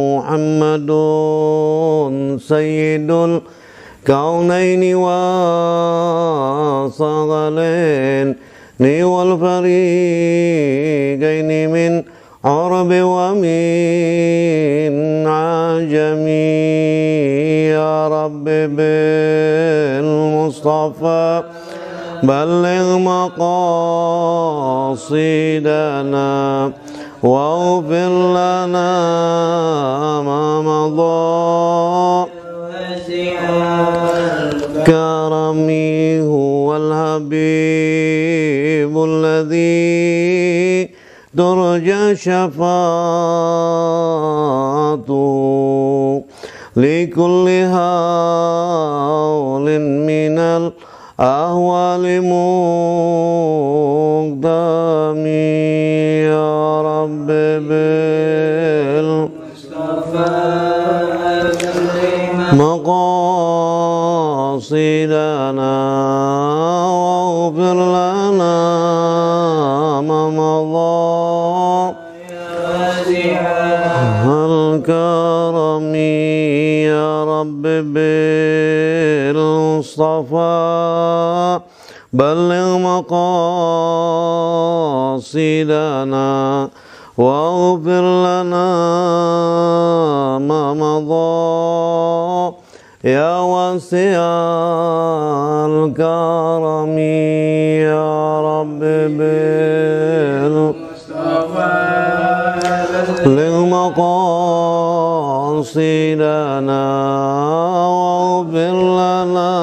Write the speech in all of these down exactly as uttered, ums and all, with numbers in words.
Muhammadun sayyidul kaunaini wa saghalain ni wal fariqaini min arabi wa min ajami ya rabbi bil mustafa balligh maqasidana waghfir lana ma madha karami huwal habibul ladzi turja syafa'atuhu likulli hawlin minal ahwali muqdami ya rabbi bil maqasidana waghfir lana ma madha hal karami ya rabbi bil mustafa balligh maqasidana waghfir lana ma madha ya wasi'al karami ya rabbi bil balligh maqasidana waghfir lana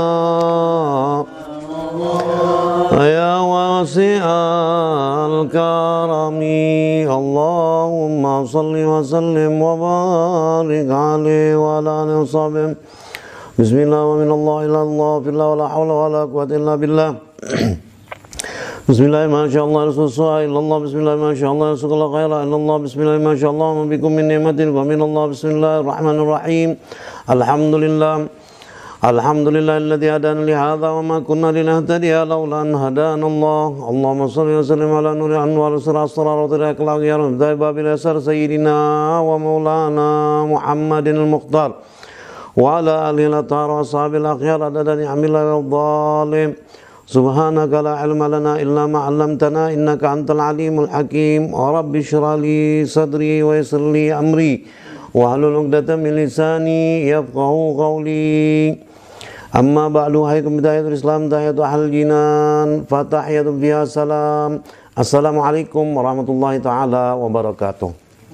ya wasi'al karami Allahumma salli wa sallim wa barik alaihi wa ala alihi wa sahbihi bismillah wa minallah ila Allah fillah wa la hawla wa la quwwata illa billah bismillah ma sha Allah rasulullah illallah bismillah ma sha Allah rasulullah khaira illallah bismillah ma sha Allah wa bikum min ni'matin wa minallah bismillahirrahmanirrahim alhamdulillah alhamdulillah alladzi hadana li hadza wa ma kunna linahtadiya laula an hadana Allah Allahumma shalli wa sallim ala nuri anwar asrar wa tariqil ya rabbi babil asar sayyidina wa maulana Muhammadin al-Mukhtar wa ala alihi al-athhar wa ashabil akhyar adada ni'amillah wa dhalim subhanaka la ilma lana illa ma 'allamtana innaka antal alimul hakim wa rabbi shrah li sadri wa yassir li amri wa hlul 'uqdatam min lisani yafqahu qawli amma ba'du haykum bidayatul islam tahiyatul ahlul jinan fatahiyatul fiha salam assalamualaikum warahmatullahi taala wabarakatuh.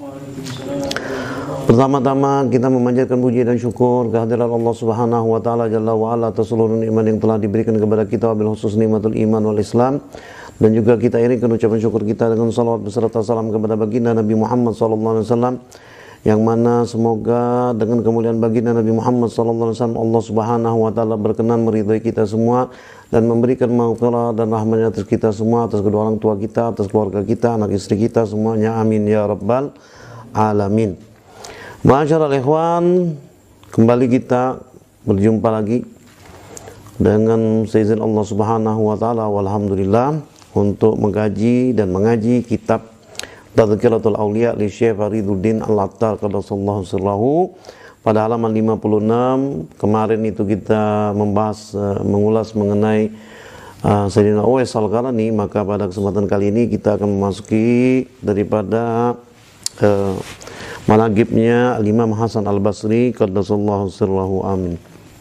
Pertama-tama kita memanjatkan puji dan syukur kehadiran Allah Subhanahu wa taala jalla wa ala atas seluruh nikmat yang telah diberikan kepada kita wabil khusus nikmatul iman wal islam, dan juga kita iringkan ucapan syukur kita dengan salawat beserta salam kepada baginda Nabi Muhammad sallallahu alaihi wasallam, yang mana semoga dengan kemuliaan baginda Nabi Muhammad sallallahu alaihi wasallam Allah Subhanahu wa taala berkenan meridhai kita semua dan memberikan maghfirah dan rahmatnya atas kita semua, atas kedua orang tua kita, atas keluarga kita, anak istri kita semuanya, amin ya rabbal alamin. Ma'asyiral ikhwan, kembali kita berjumpa lagi dengan seizin Allah Subhanahu wa taala walhamdulillah untuk mengkaji dan mengaji kitab Tadhkiratul Auliya li Syekh Fariduddin Al-Attar qaddasallahu sirrahu pada halaman lima puluh enam. Kemarin itu kita membahas uh, mengulas mengenai uh, Sayyidina Uwais Al-Qarani, maka pada kesempatan kali ini kita akan memasuki daripada uh, manaqibnya Imam Hasan Al-Basri qaddasallahu sirrahu amin.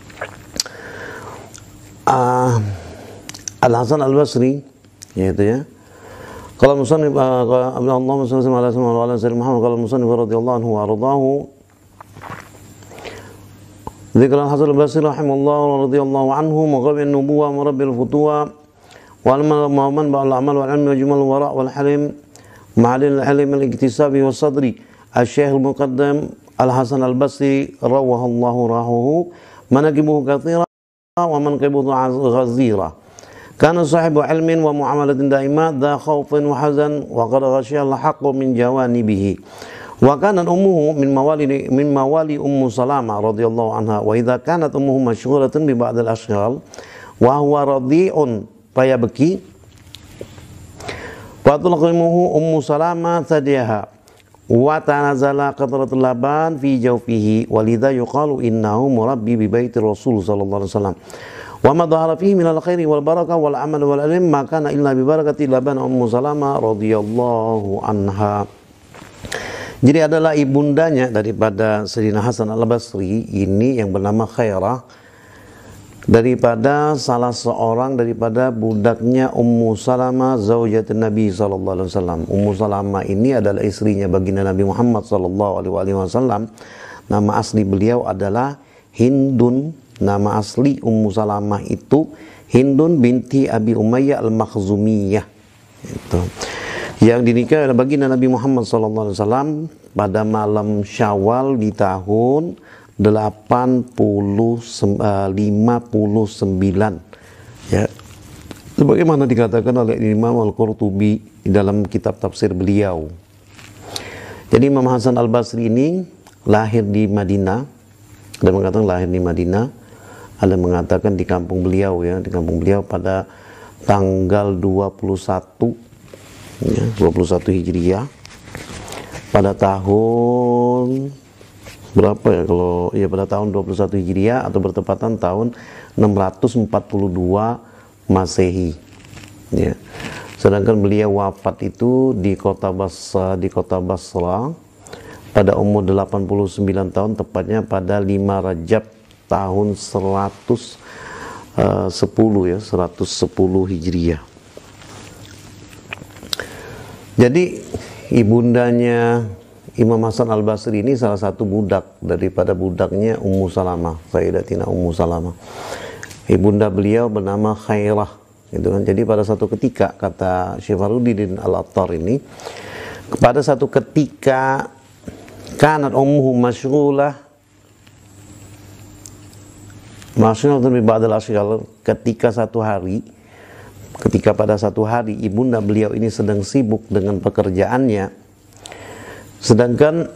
Uh, Al-Hasan Al-Basri yaitu ya kalau musannif Allahumma shalli ala sayyidina Muhammad kalau musannif radhiyallahu anhu wa ardahu dzikr Al-Hasan Al-Basri rahimahullah radhiyallahu anhu maqamin nubuwah marabbil futuwa wal man ba'al amal wal ilmi wa jumal wara wal halim ma'al al-halim al-iktisabi was sadri Al-Syekh Al-Muqaddam Al-Hasan Al-Basri rawahallahu rahuhu manaqibuhu katsira wa manqibuhu ghazira kana sahibu ilmin wa muamalatin daimat dha khaufin wa hazan wa qad ghashiya al-haqqu min jawanibihi wa kanat ummuhu min mawali min mawali ummu Salamah radhiyallahu anha wa idza kanat ummuhu mashghulatan bi ba'd al-ashghal wa huwa radhi'un fayabki fa tulqimuhu ummu Salamah thadiyaha wa tanazala qatratul laban fi jawfihi walidha yuqalu innahu murabbi bi baiti Rasul sallallahu alaihi wasallam wa ma dhahara fihi minal khairi wal barakah wal amal wal ilm ma kana illa bi barakati laban Ummu Salamah radhiyallahu anha. Jadi adalah ibundanya daripada Sayyidina Hasan Al-Basri ini yang bernama Khairah, daripada salah seorang daripada budaknya Ummu Salamah zaujatun Nabi sallallahu alaihi wasallam. Ummu Salamah ini adalah istrinya baginda Nabi Muhammad sallallahu alaihi wasallam. Nama asli beliau adalah Hindun. Nama asli Ummu Salamah itu Hindun binti Abi Umayyah Al-Makhzumiyah. Itu. Yang dinikah oleh baginda Nabi Muhammad sallallahu alaihi wasallam pada malam Syawal di tahun delapan puluh lima puluh sembilan, ya, sebagaimana dikatakan oleh Imam Al-Qurtubi di dalam kitab tafsir beliau. Jadi Imam Hasan Al-Basri ini lahir di Madinah, ada mengatakan lahir di Madinah, ada mengatakan di kampung beliau, ya, di kampung beliau pada tanggal dua puluh satu, ya, dua puluh satu Hijriah pada tahun berapa ya, kalau ya pada tahun dua puluh satu Hijriah atau bertepatan tahun enam ratus empat puluh dua Masehi, ya. Sedangkan beliau wafat itu di kota Basra, di kota Basra pada umur delapan puluh sembilan tahun, tepatnya pada lima Rajab tahun seratus sepuluh, ya, seratus sepuluh Hijriah. Jadi ibundanya Imam Hasan Al-Basri ini salah satu budak daripada budaknya Ummu Salamah, Sayyidatina Ummu Salamah. Ibunda beliau bernama Khairah, gitu kan. Jadi pada satu ketika, kata Syekh Fakhruddin Al-Attar ini, pada satu ketika kanat ummuhu masyghulah masyghulatan bi ba'dil asyghal, ketika satu hari ketika pada satu hari ibunda beliau ini sedang sibuk dengan pekerjaannya, sedangkan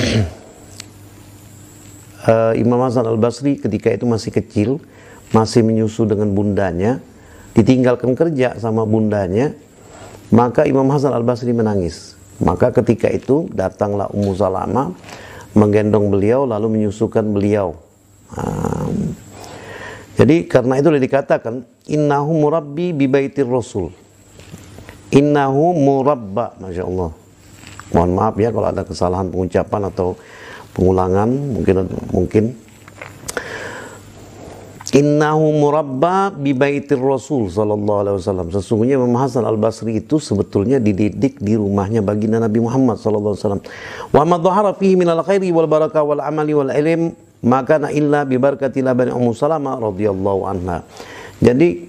uh, Imam Hasan Al-Basri ketika itu masih kecil, masih menyusu dengan bundanya, ditinggalkan kerja sama bundanya, maka Imam Hasan Al-Basri menangis. Maka ketika itu datanglah Ummu Salamah menggendong beliau lalu menyusukan beliau. Um, Jadi karena itu dikatakan innahu murabbi bi baitir Rasul. Innahu murabba, Masya Allah. Mohon maaf ya kalau ada kesalahan pengucapan atau pengulangan, mungkin mungkin. Innahu murabba bi baitir Rasul sallallahu alaihi wasallam. Sesungguhnya Imam Hasan Al-Basri itu sebetulnya dididik di rumahnya baginda Nabi Muhammad sallallahu alaihi wasallam. Wa ma dhahara fihi minal khairi wal barakah wal amali wal ilm maka na illa bi barakati labani Ummu Salamah radhiyallahu anha. Jadi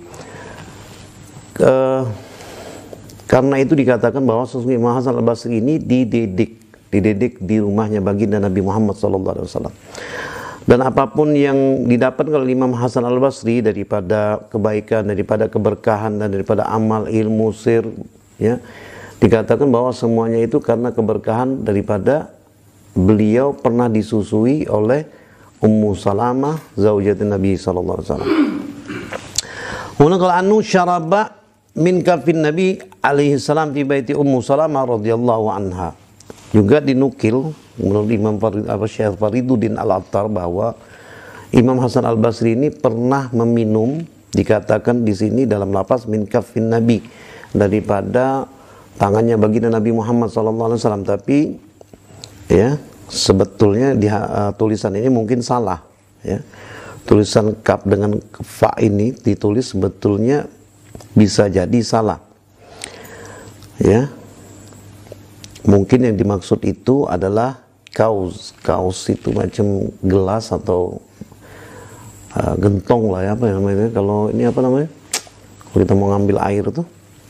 uh, karena itu dikatakan bahwa sesungguhnya Imam Hasan Al-Basri ini dididik dididik di rumahnya baginda Nabi Muhammad sallallahu alaihi wasallam. Dan apapun yang didapat oleh Imam Hasan Al-Basri daripada kebaikan, daripada keberkahan, dan daripada amal, ilmu, sir, ya, dikatakan bahwa semuanya itu karena keberkahan daripada beliau pernah disusui oleh Ummu Salamah zaujatun Nabi sallallahu alaihi wasallam. Kemudian kalau anu syaraba min kafin Nabi alaihi salam fi baiti Ummu Salamah radhiyallahu anha. Juga dinukil menurut Imam Farid, apa Syekh Fakhruddin Al-Attar bahwa Imam Hasan Al-Basri ini pernah meminum, dikatakan di sini dalam lafaz min kafin Nabi, daripada tangannya baginda Nabi Muhammad sallallahu alaihi wasallam, tapi ya sebetulnya di uh, tulisan ini mungkin salah, ya. Tulisan kaf dengan fa ini ditulis sebetulnya bisa jadi salah, ya. Mungkin yang dimaksud itu adalah kaus. Kaus itu macam gelas atau uh, gentong lah, ya, apa namanya. Kalau ini apa namanya? Kalau kita mau ngambil air tuh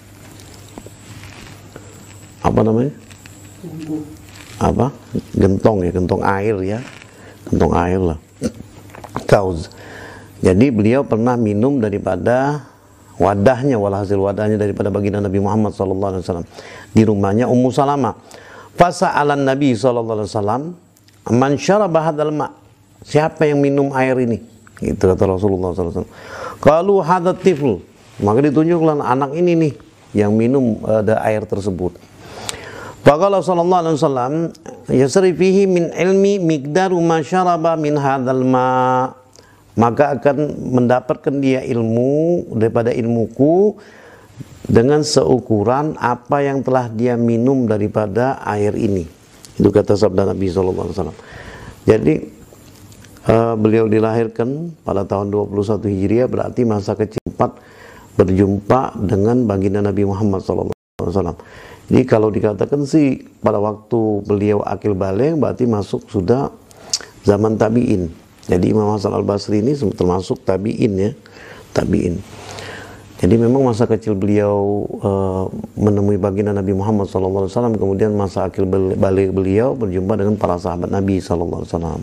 apa namanya? Apa? Gentong, ya, gentong air, ya. Gentong air lah. Kaus. Jadi beliau pernah minum daripada wadahnya, walhasil wadahnya daripada baginda Nabi Muhammad sallallahu alaihi wasallam di rumahnya Ummu Salamah. Fasa'alan Nabi sallallahu alaihi wasallam man syaraba hadzal ma', siapa yang minum air ini, itu kata Rasulullah sallallahu alaihi wasallam. Qalu hadzal tifl, maka ditunjukkan anak ini nih yang minum ada air tersebut. Faqala sallallahu alaihi wasallam yasri fihi min ilmi miqdaru ma syaraba min hadzal ma, maka akan mendapatkan dia ilmu daripada ilmuku dengan seukuran apa yang telah dia minum daripada air ini. Itu kata sabda Nabi sallallahu alaihi wasallam. Jadi uh, beliau dilahirkan pada tahun dua puluh satu Hijriah, berarti masa kecil empat berjumpa dengan baginda Nabi Muhammad sallallahu alaihi wasallam. Jadi kalau dikatakan sih pada waktu beliau akil baligh berarti masuk sudah zaman tabi'in. Jadi Imam Hasan Al-Basri ini termasuk tabi'in ya, tabi'in. Jadi memang masa kecil beliau uh, menemui baginda Nabi Muhammad sallallahu alaihi wasallam, kemudian masa akil baligh beliau berjumpa dengan para sahabat Nabi sallallahu alaihi wasallam.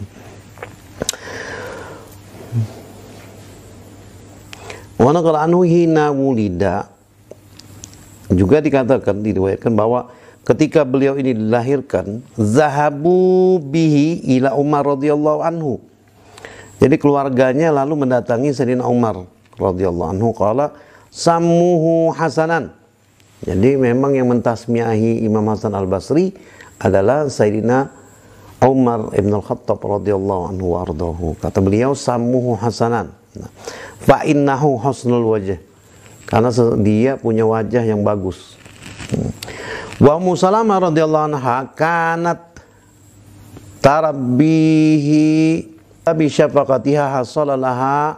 Wa naqala anhu hina wulida, juga dikatakan, diriwayatkan bahwa ketika beliau ini dilahirkan, zahabu bihi ila Umar radhiyallahu anhu. Jadi keluarganya lalu mendatangi Sayyidina Umar radhiyallahu anhu, qala sammuhu Hasanan. Jadi memang yang mentasmiahi Imam Hasan Al-Basri adalah Sayyidina Umar ibn Al-Khattab radhiyallahu anhu wa ardahu. Kata beliau sammuhu Hasanan. Nah, fa innahu husnul wajh, karena dia punya wajah yang bagus. Wa Ummu Salamah radhiyallahu anha kanat tarabbihi bi syafaqatiha hasalalaha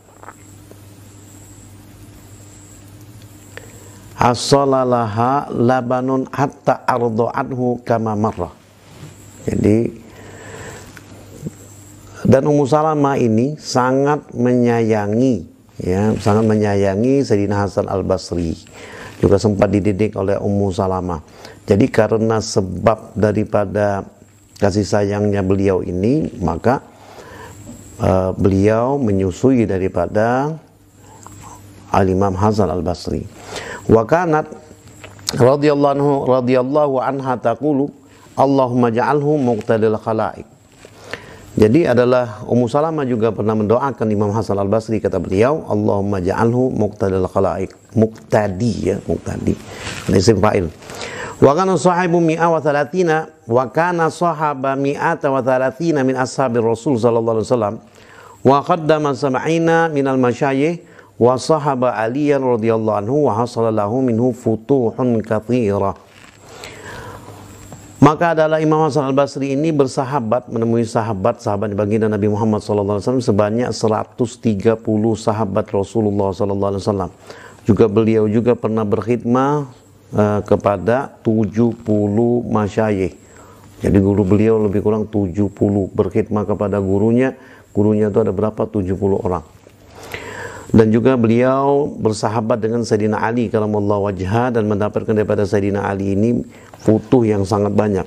hasalalaha labanun hatta arda'athu kama marrah. Jadi dan Ummu Salamah ini sangat menyayangi, ya, sangat menyayangi Sayyidina Hasan Al-Basri, juga sempat dididik oleh Ummu Salamah. Jadi karena sebab daripada kasih sayangnya beliau ini, maka uh, beliau menyusui daripada Al-Imam Hasan Al-Basri. Wa kanat radhiyallahu anhu radhiyallahu anha taqulu Allahumma ja'alhu muqtadil khalaiq. Jadi adalah Ummu Salamah juga pernah mendoakan Imam Hasan Al-Basri, kata beliau, Allahumma ja'alhu muqtadil khalaiq. Muqtadi ya, muqtadi. Isim fa'il. Wa kana sahibu mi'a wa thalathina wa kana sahaba mi'ata wa thalathina min ashabir Rasul sallallahu alaihi wasallam wa qaddama sab'ina min al-masyayikh wa sahaba Aliyan radhiyallahu anhu wa hasala lahu minhu futuhun katsira. Maka adalah Imam Hasan Al-Basri ini bersahabat, menemui sahabat-sahabat baginda Nabi Muhammad sallallahu alaihi wasallam sebanyak seratus tiga puluh sahabat Rasulullah sallallahu alaihi wasallam. Juga beliau juga pernah berkhidmah uh, kepada tujuh puluh masyayikh. Jadi guru beliau lebih kurang tujuh puluh, berkhidmah kepada gurunya. Gurunya itu ada berapa? tujuh puluh orang. Dan juga beliau bersahabat dengan Sayyidina Ali karamallahu wajhah dan mendapatkan daripada Sayyidina Ali ini futuh yang sangat banyak.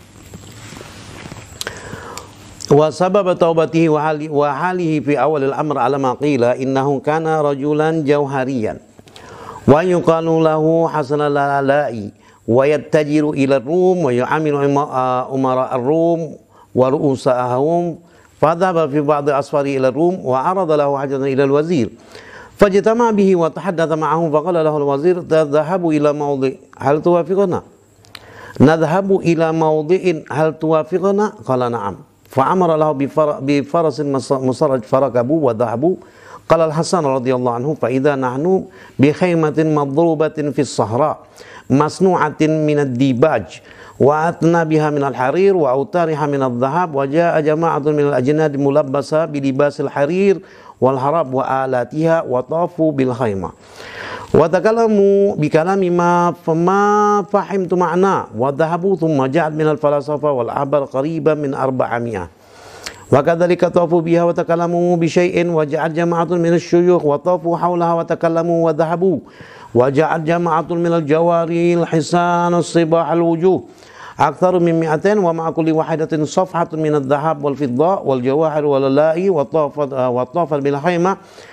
Wa sabab taubatihi wa hali wa halihi fi awal al-amr ala ma qila innahu kana rajulan jauhariyan wa yuqalu lahu Hasan al-Lalai wa yattajiru ila ar-Rum wa yu'amilu umara ar-Rum wa ru'usahum. فذهب في بعض أسفاره إلى الروم وعرض له حاجة إلى الوزير فاجتمع به وتحدث معه فقال له الوزير تذهب إلى موضع هل توافقنا نذهب إلى موضع هل توافقنا قال نعم فأمر له بفرس مسرج فركبوا وذهبوا قال الحسن رضي الله عنه فإذا نحن بخيمة مضروبة في الصحراء مصنوعة من الديباج وأتنا بها من الحرير وأوتارها من الذهب وجاء جماعة من الأجناد ملبسة بلباس الحرير والحراب وآلاتها وطافوا بالخيمة وتكلموا بكلام ما فما فهمت معناه وذهبوا ثم جاءت من الفلاسفة والأحبار قريبا من أربعمائة وكذلك طافوا بها وتكلموا بشيء وجاءت جماعة من الشيوخ وطافوا حولها وتكلموا وذهبوا وجاءت جماعة من الجواري الحسان الصباح الوجوه أكثر من مئتين ومع كل واحدة صفحة من الذهب والفضة والجواهر واللؤلؤ وطافت وطافت بالخيمة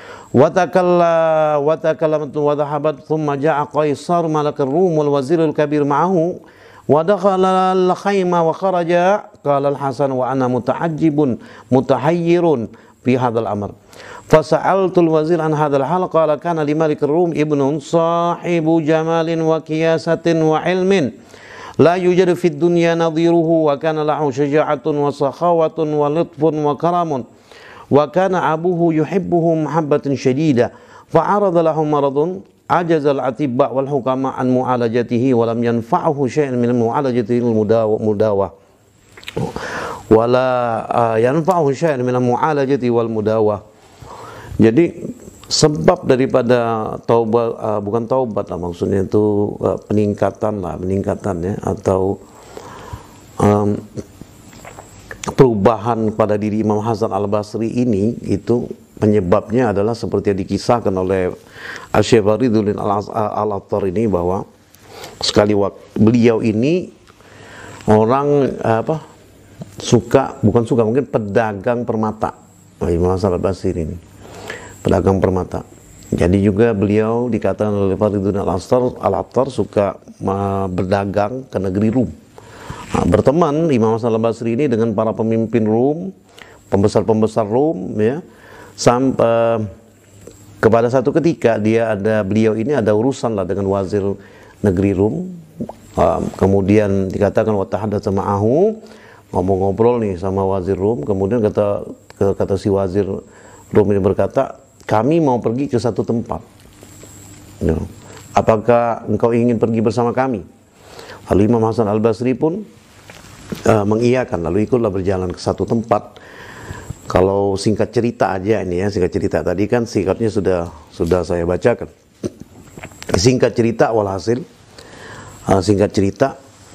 وتكلمت وذهبت ثم جاء قيصر ملك الروم والوزير الكبير معه ودخل الخيمة وخرج قال الحسن وأنا متعجب متحير في هذا الأمر فسألت الوزير عن هذا الحال قال كان لملك الروم ابن صاحب جمال وكياسة وعلم la yujadu fid dunya nadhiruhu wa kana lahu syaja'atun wa sakhawatun wa lutfun wa karamun wa kana abuhu yuhibbuhu mahabbatan syadida fa'arada lahu maradun ajazal atibba wal hukama an mu'alajatihi wa lam yanfa'uhu syai'an min mu'alajatihi al-mudawa wala uh, yanfa'uhu syai'an min mu'alajati wal mudawa. Jadi sebab daripada taubat, uh, bukan taubat lah, maksudnya itu uh, peningkatan lah, peningkatan ya, atau um, perubahan pada diri Imam Hasan Al-Basri ini, itu penyebabnya adalah seperti yang dikisahkan oleh Asy-Syaikh Fariduddin Al-Attar ini, bahwa sekali waktu beliau ini orang apa suka, bukan suka, mungkin pedagang permata. Imam Hasan Al-Basri ini pedagang permata. Jadi juga beliau dikatakan oleh Fariduddin Al-Attar suka uh, berdagang ke negeri Rum. Nah, berteman Imam Hasan Al-Basri ini dengan para pemimpin Rum, pembesar-pembesar Rum ya. Sampai uh, kepada satu ketika dia ada beliau ini ada urusan lah dengan wazir negeri Rum. Uh, kemudian dikatakan wa tahaddatsa ma'ahu, ngobrol-ngobrol nih sama wazir Rum. Kemudian kata kata si wazir Rum ini berkata, kami mau pergi ke satu tempat. Ya. Apakah engkau ingin pergi bersama kami? Lalu Imam Hasan Al-Basri pun uh, mengiyakan. Lalu ikutlah berjalan ke satu tempat. Kalau singkat cerita aja ini ya, singkat cerita tadi kan singkatnya sudah sudah saya bacakan. Singkat cerita walhasil, uh, singkat cerita,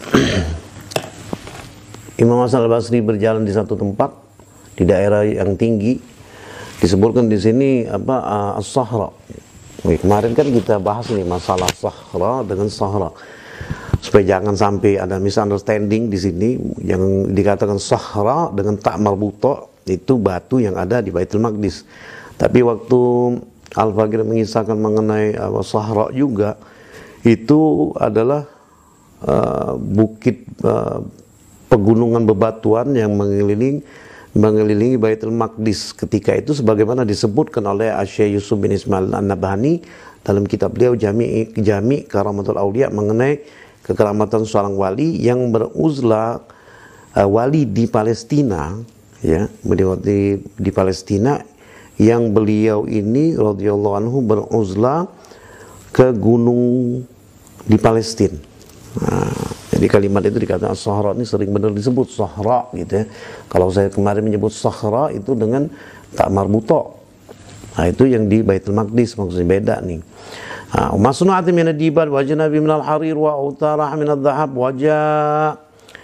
Imam Hasan Al-Basri berjalan di satu tempat di daerah yang tinggi. Disebutkan di sini apa uh, as-sahra. Kemarin kan kita bahas nih masalah sahra dengan sahra. Supaya jangan sampai ada misunderstanding di sini, yang dikatakan sahra dengan tak marbuta itu batu yang ada di Baitul Maqdis. Tapi waktu Al-Faqir mengisahkan mengenai uh, sahra juga, itu adalah uh, bukit uh, pegunungan bebatuan yang mengelilingi mengelilingi Baitul Maqdis ketika itu, sebagaimana disebutkan oleh Asy-Syaikh Yusuf bin Ismail An-Nabhani dalam kitab beliau Jami' Jami' Karamatul Auliya mengenai kekeramatan seorang wali yang beruzlah, uh, wali di Palestina ya, beliau di, di Palestina yang beliau ini radhiyallahu anhu beruzlah ke gunung di Palestina. Nah, jadi kalimat itu dikatakan sahra ini sering benar disebut sahra gitu ya. Kalau saya kemarin menyebut sahra itu dengan tak marbuto. Nah, itu yang di Baitul Maqdis, maksudnya beda nih. Nah, masnu'atin min ad-dibar wa janabi min al-harir wa utarah min adh-dhahab wa jaa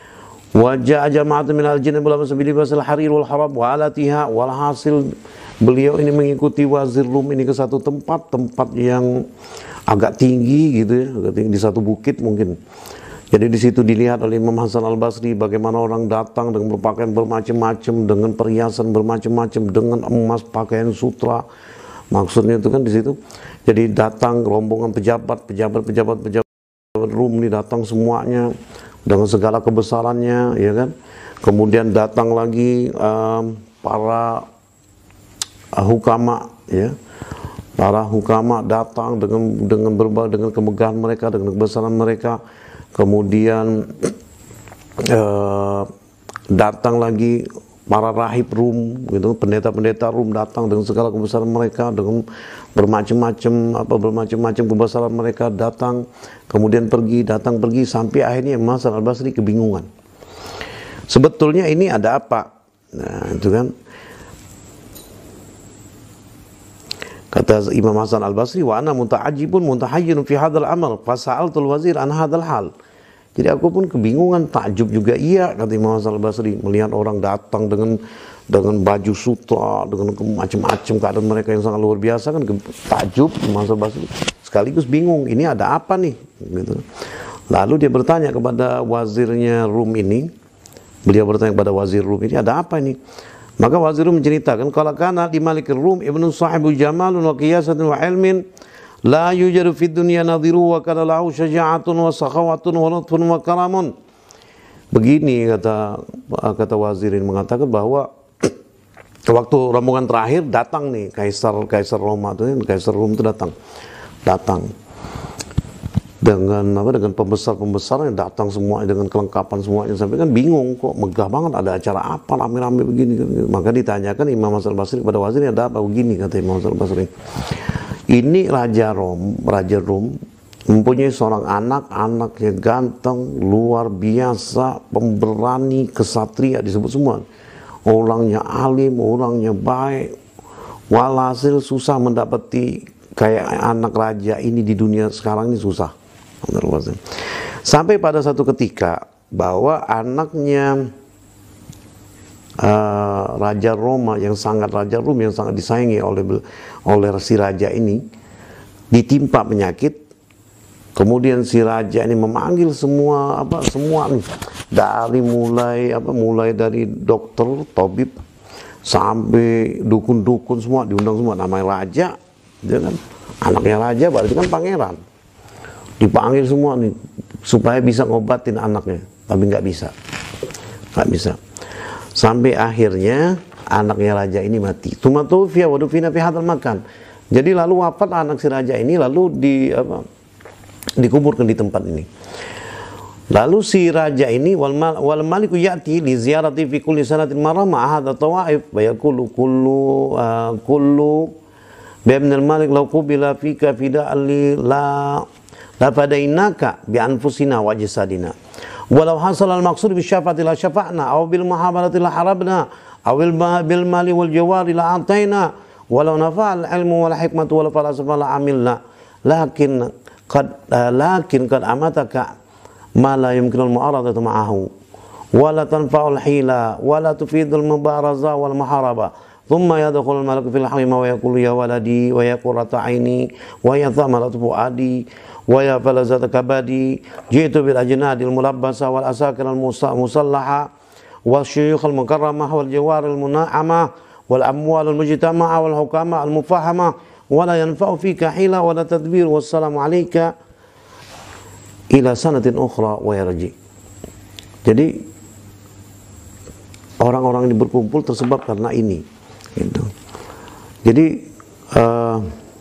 wa jaa jama'atun min al-jinn bil sabili basal harir wal harab wa alatiha. Walhasil beliau ini mengikuti wazir Rum ini ke satu tempat, tempat yang agak tinggi gitu ya, agak tinggi di satu bukit mungkin. Jadi di situ dilihat oleh Imam Hasan Al-Basri bagaimana orang datang dengan berpakaian bermacam-macam, dengan perhiasan bermacam-macam, dengan emas, pakaian sutra. Maksudnya itu kan di situ. Jadi datang rombongan pejabat, pejabat, pejabat, pejabat Rum ini datang semuanya dengan segala kebesarannya, ya kan. Kemudian datang lagi um, para uh, hukama, ya. Para hukama datang dengan dengan berbagai dengan kemegahan mereka, dengan kebesaran mereka. Kemudian uh, datang lagi para rahib Rum, gitu, pendeta-pendeta Rum datang dengan segala kebesaran mereka, dengan bermacam-macam apa bermacam-macam kebesaran mereka datang, kemudian pergi, datang pergi, sampai akhirnya Imam Hasan Al-Basri kebingungan. Sebetulnya ini ada apa? Nah, itu kan. Kata Imam Hasan Al-Basri, wa ana muta'ajjibun mutahayyirun fi hadzal amal, fa sa'altul wazir an hadzal hal. Jadi aku pun kebingungan, takjub juga iya, kata Imam Hasan Al-Basri, melihat orang datang dengan dengan baju sutra, dengan macam-macam keadaan mereka yang sangat luar biasa kan, takjub Imam Hasan Al-Basri. Sekaligus bingung, ini ada apa nih? Gitu. Lalu dia bertanya kepada wazirnya Rum ini, beliau bertanya kepada wazir Rum ini, ada apa ini? Maka wazir Rum menceritakan, kalau kana di Malikir Rum ibnu sahibu jamalun wa qiyasatin wa ilmin la yujadu fid dunya nadhiru wa kana lahu syaja'atun wa sakhawatun wa lutfun wa karamun. Begini kata kata wazir ini mengatakan bahwa waktu rombongan terakhir datang nih kaisar kaisar Roma itu, kaisar Rum itu datang. Datang. dengan apa dengan pembesar-pembesar yang datang semua dengan kelengkapan semuanya, sampai kan bingung, kok megah banget, ada acara apa rame-rame begini. Maka ditanyakan Imam Hasan al-Basri kepada wazirnya, ada apa begini, kata Imam Hasan al-Basri, ini Raja Rom, Raja Rom mempunyai seorang anak, anaknya ganteng, luar biasa, pemberani, kesatria, disebut semua, orangnya alim, orangnya baik, walhasil susah mendapati kayak anak raja ini di dunia sekarang ini, susah. Sampai pada satu ketika bahwa anaknya uh, Raja Roma yang sangat Raja Rum yang sangat disayangi oleh oleh si raja ini ditimpa penyakit. Kemudian si raja ini memanggil semua apa semua nih, dari mulai apa mulai dari dokter, tabib sampai dukun-dukun semua diundang semua, namanya raja, dia kan anaknya raja berarti kan pangeran. Dipanggil semua nih supaya bisa ngobatin anaknya, tapi nggak bisa, nggak bisa. Sampai akhirnya anaknya raja ini mati. Tumatufia wadufina fi hadzal makan. Jadi lalu wafat anak si raja ini, lalu di apa, dikuburkan di tempat ini. Lalu si raja ini wal, mal, wal maliku ya'ti li ziyarati fi kulli sanatin marra ma'a hadha tawaif wa yaqulu kullu uh, kullu Ibn al-Malik law qubila fika fida'an li la la fadainaka bi anfusina wa jasadina walau hasal al-maqsud bi syafa'ati la syafa'na aw bil muhabarati la harabna aw bil mali wal jawari la ataina walau nafa'al ilmu wal hikmatu wal falsafa la amilna lakin qad uh, lakin qad amataka ma la yumkinu al-mu'aradatu ma'ahu wa la tanfa'u al-hila wa la tufidu al-mubaraza wal muharaba thumma yadkhulu al-malaku fil hamima wa yaqulu ya waladi wa ya qurrata aini wa ya thamaratu fuadi wa ya falazata kabadi jitu bil ajnadil mulabbasa wal asakir al musallaha wal syuyukh al mukarramah wal jawar al muna'amah wal amwal al mujtama'a wal hukama al mufahama wa la yanfa'u fika hila wa la tadbir wassalamu alayka ila sanatin ukhra wa yarji. Jadi orang-orang ini berkumpul tersebab karena ini gitu. Jadi uh,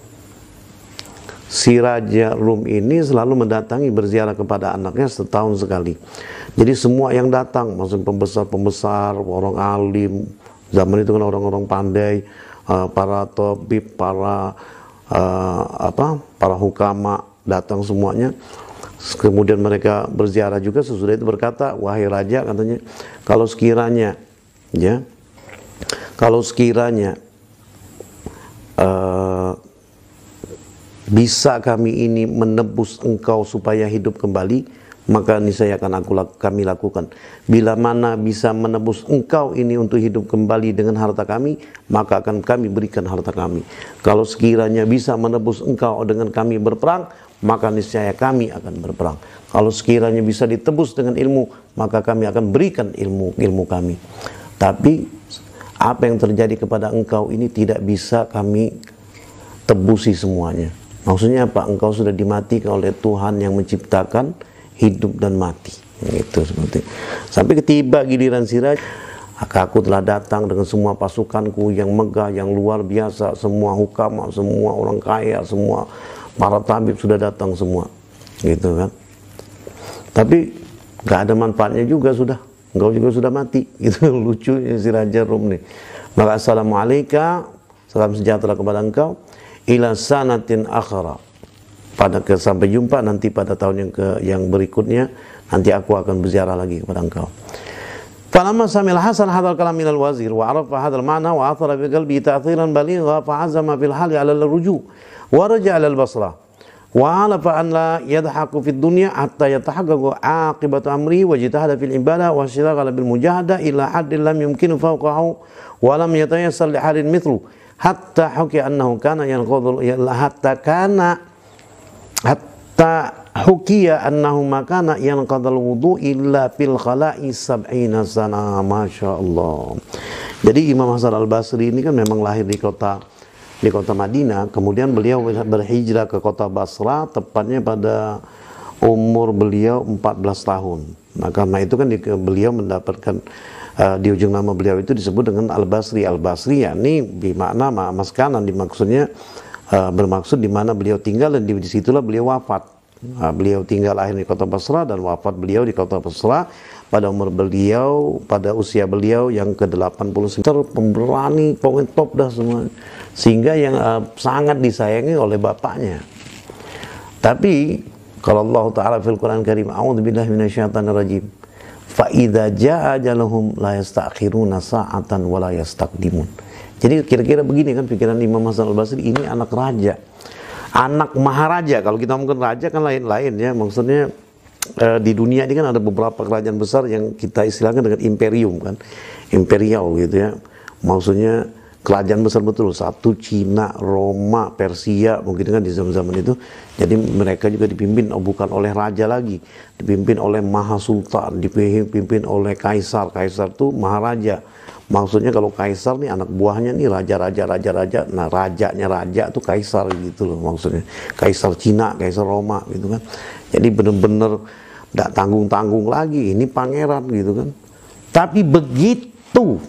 si Raja Rum ini selalu mendatangi berziarah kepada anaknya setahun sekali. Jadi semua yang datang, maksud pembesar-pembesar, orang alim, zaman itu kan orang-orang pandai, uh, para tabib, para uh, apa, para hukama datang semuanya. Kemudian mereka berziarah juga, sesudah itu berkata, wahai raja, katanya, kalau sekiranya, ya, kalau sekiranya uh, bisa kami ini menebus engkau supaya hidup kembali, maka niscaya akan aku kami lakukan. Bila mana bisa menebus engkau ini untuk hidup kembali dengan harta kami, maka akan kami berikan harta kami. Kalau sekiranya bisa menebus engkau dengan kami berperang, maka niscaya kami akan berperang. Kalau sekiranya bisa ditebus dengan ilmu, maka kami akan berikan ilmu ilmu kami. Tapi apa yang terjadi kepada engkau ini tidak bisa kami tebusi semuanya. Maksudnya apa? Engkau sudah dimatikan oleh Tuhan yang menciptakan hidup dan mati. Itu seperti. Sampai ketiba giliran si raja, maka aku telah datang dengan semua pasukanku yang megah, yang luar biasa, semua hukama, semua orang kaya, semua para tabib sudah datang semua, gitu kan. Tapi nggak ada manfaatnya juga, sudah engkau juga sudah mati. Itu lucu si Raja Rum nih. Maka assalamualaikum, salam sejahtera kepada engkau, ila sanatin akhara, pada ke, sampai jumpa nanti pada tahun yang ke yang berikutnya, nanti aku akan berziarah lagi kepada engkau. Falamma samil Hasan hadzal kalam minal wazir wa arafa hadzal ma'na wa athara fi qalbi ta'thiran baligha fa azama fil hali 'ala al-ruju' wa raja'a ila al-Basrah wa 'alafa an la yadhaku fid dunya hatta yatahaqqaqu 'aqibatu amri wa jitahada fil ibadah wa shiraghala bil mujahada ila haddin lam yumkinu fawqahu wa lam yatayassal li halin mithlu hatta hukiya annahu kana yanqudhu hatta kana hatta hukiya annahu makana yanqadhal wudu illa fil khala'i sab'ina sana. Masya Allah. Jadi Imam Hasan al-Basri ini kan memang lahir di kota di kota Madinah, kemudian beliau berhijrah ke kota Basra tepatnya pada umur beliau empat belas tahun. Nah karena itu kan di, beliau mendapatkan uh, di ujung nama beliau itu disebut dengan Al-Basri. Al-Basri yakni bermakna maskanan, dimaksudnya uh, bermaksud di mana beliau tinggal dan di disitulah beliau wafat. Nah, beliau tinggal lahir di kota Basra dan wafat beliau di kota Basra pada umur beliau, pada usia beliau yang ke delapan puluh sembilan. Pemberani, pokoknya top dah semua. Sehingga yang uh, sangat disayangi oleh bapaknya. Tapi kalau Allah Ta'ala fil Quran Karim, a'udzubillahi minasyaitonir rajim. Fa idza jaa ajaluhum la yastakhiruna sa'atan wa la yastaqdimun. Jadi kira-kira begini kan pikiran Imam Hasan Al-Basri, ini anak raja. Anak maharaja. Kalau kita ngomongin raja kan lain-lain ya. Maksudnya eh, di dunia ini kan ada beberapa kerajaan besar yang kita istilahkan dengan imperium kan. Imperial gitu ya. Maksudnya kerajaan besar betul. Satu Cina, Roma, Persia mungkin kan di zaman-zaman itu. Jadi mereka juga dipimpin oh, bukan oleh raja lagi. Dipimpin oleh Mahasultan, dipimpin oleh Kaisar. Kaisar itu maharaja. Maksudnya kalau kaisar nih anak buahnya nih raja-raja raja-raja, nah rajanya raja tuh kaisar gitu loh maksudnya. Kaisar Cina, kaisar Roma gitu kan. Jadi bener-bener gak tanggung-tanggung lagi, ini pangeran gitu kan. Tapi begitu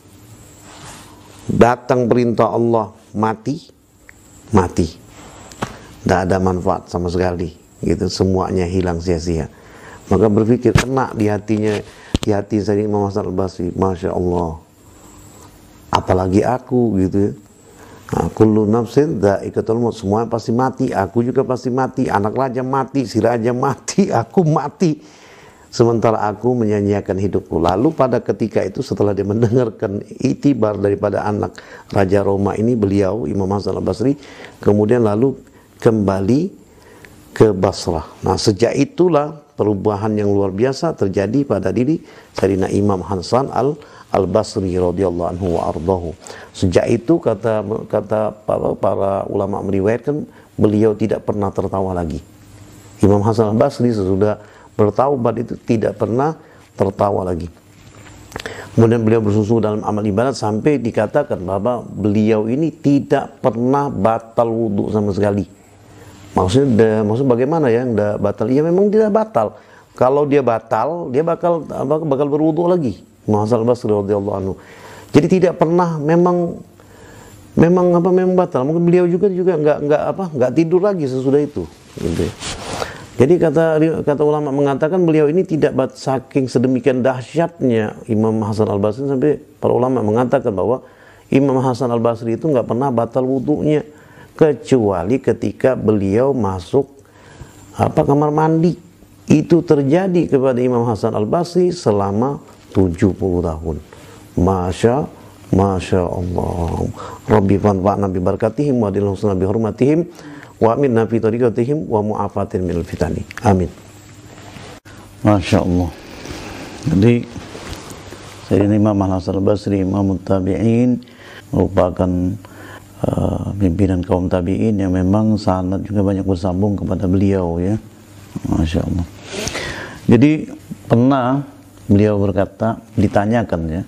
datang perintah Allah mati, mati. Gak ada manfaat sama sekali gitu, semuanya hilang sia-sia. Maka berpikir kena di hatinya, di hati saya Imam Hasan Al-Basri, Masya Allah. Apalagi aku gitu ya. Nah, kullu nafsin dha'iqatul maut, semua pasti mati, aku juga pasti mati, anak raja mati, si raja mati, aku mati. Sementara aku menyanyiakan hidupku. Lalu pada ketika itu setelah dia mendengarkan itibar daripada anak raja Roma ini, beliau Imam Hasan Al-Basri kemudian lalu kembali ke Basrah. Nah, sejak itulah perubahan yang luar biasa terjadi pada diri Sayyidina Imam Hasan Al Al-Basri radhiyallahu anhu wa ardahu. Sejak itu kata kata para, para ulama meriwayatkan beliau tidak pernah tertawa lagi. Imam Hasan Al-Basri sesudah bertaubat itu tidak pernah tertawa lagi. Kemudian beliau bersusu dalam amal ibadat sampai dikatakan bahwa beliau ini tidak pernah batal wudhu sama sekali. Maksudnya, maksud bagaimana ya? Tidak batal? Ya memang tidak batal. Kalau dia batal, dia bakal bakal berwudhu lagi. Imam Hasan Al-Basri radhiyallahu anhu. Jadi tidak pernah memang memang apa memang batal. Mungkin beliau juga juga nggak nggak apa nggak tidur lagi sesudah itu. Gitu. Jadi kata kata ulama mengatakan beliau ini tidak bat, saking sedemikian dahsyatnya Imam Hasan Al-Basri sampai para ulama mengatakan bahwa Imam Hasan Al-Basri itu nggak pernah batal wudhunya kecuali ketika beliau masuk apa kamar mandi. Itu terjadi kepada Imam Hasan Al-Basri selama tujuh puluh tahun. Masya Masya Allah. Rabbi fanfa'na bi barakatihim wa adil husna bi hurmatihim wa aminna fi tariqatihim wa mu'afatin minal fitani. Amin. Masya Allah. Jadi Sayyidina Imam Hasan Al-Basri, Imam Tabi'in, merupakan uh, pimpinan kaum tabi'in yang memang sanad juga banyak bersambung kepada beliau ya. Masya Allah. Jadi pernah beliau berkata, ditanyakan ya,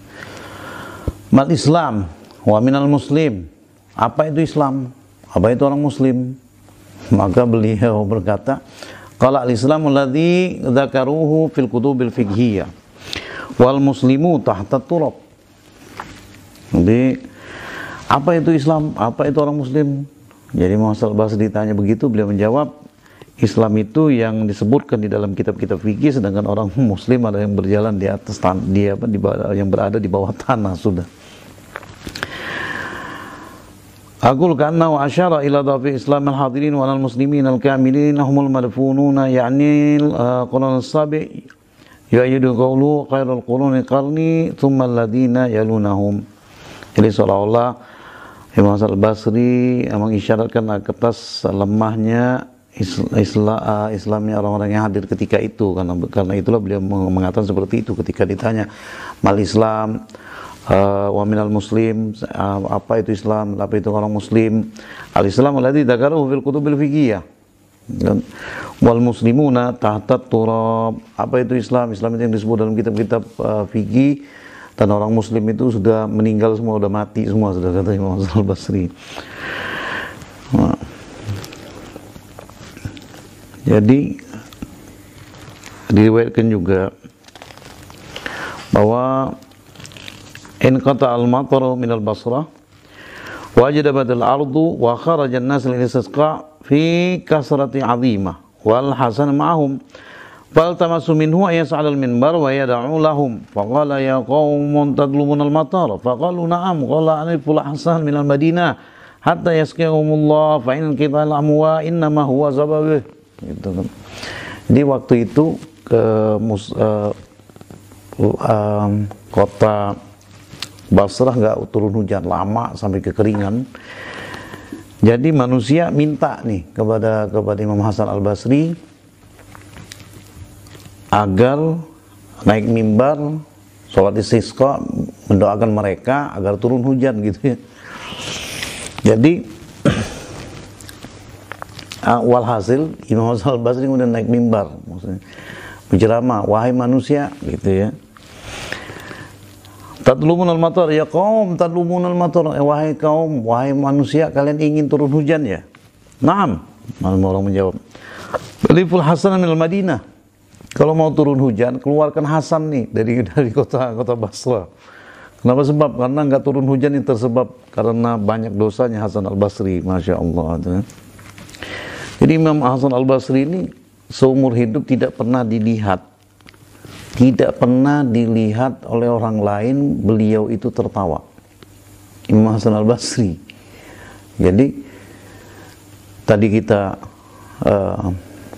mal Islam wa minal muslim, apa itu Islam, apa itu orang muslim? Maka beliau berkata, qala al-islamu alladhi dzakaruhu fil kutubil fiqhiyah wal muslimu tahta turab. Jadi apa itu Islam, apa itu orang muslim? Jadi Muhammad Al-Basri ditanya begitu, beliau menjawab, Islam itu yang disebutkan di dalam kitab-kitab fikih, sedangkan orang muslim ada yang berjalan di atas tanah, dia apa di bawah, yang berada di bawah tanah sudah. Aqul kanna wa asyara ila dhafi Islam al-hadirin wa al-muslimin al-kamilin humul madfununa ya'ni al-qurun as-sabi yu'ayyidu qawlu khairul quruni qarni thumma alladhina yalunahum. Jadi seolah-olah Imam Hasan Al-Basri mengisyaratkan atas lemahnya Islam, Islamnya orang-orang yang hadir ketika itu, karena karena itulah beliau mengatakan seperti itu ketika ditanya mal Islam uh, wa minal muslim, uh, apa itu Islam, apa itu orang muslim. Al-Islam alladzi dzakarahu fil kutubil fiqhiyah wal muslimuna tahta turab. Apa itu Islam? Islam itu yang disebut dalam kitab-kitab uh, fikih, dan orang muslim itu sudah meninggal semua, sudah mati semua, sudah kata Imam Hasan Al-Basri. Nah. Jadi diriwayatkan juga bahwa in qata al-mataru min al-Basrah wajadat al-ardu wa kharaja an-nas lil-istisqa fi kasrati 'azimah wal Hasan ma'ahum. Faltamasu minhu ayas'al al-minbar wa yad'u lahum. Faqala ya qaumun tadlumuna al-matar. Faqalu na'am. Qala aniful Hasan minal Madinah hatta yaskihumullah fa in qital amwa innama huwa zababih. Gitu kan. Jadi waktu itu ke mus, uh, uh, kota Basrah nggak turun hujan lama sampai kekeringan. Jadi manusia minta nih kepada kepada Imam Hasan Al-Basri agar naik mimbar sholat istisqa mendoakan mereka agar turun hujan gitu ya. Jadi walhasil Imam Hasan Al-Basri kemudian naik mimbar, maksudnya berceramah, wahai manusia gitu ya. Tadlumun al-matar, ya kaum tadlumun al-matar, eh, wahai kaum, wahai manusia, kalian ingin turun hujan ya? Naam, orang menjawab. Aliful Hasan min al-Madinah. Kalau mau turun hujan, keluarkan Hasan nih dari dari kota kota Basra. Kenapa sebab? Karena nggak turun hujan ini tersebab karena banyak dosanya Hasan Al-Basri, masya Allah. Jadi Imam Hasan Al-Basri ini seumur hidup tidak pernah dilihat, tidak pernah dilihat oleh orang lain beliau itu tertawa. Imam Hasan Al-Basri. Jadi tadi kita uh,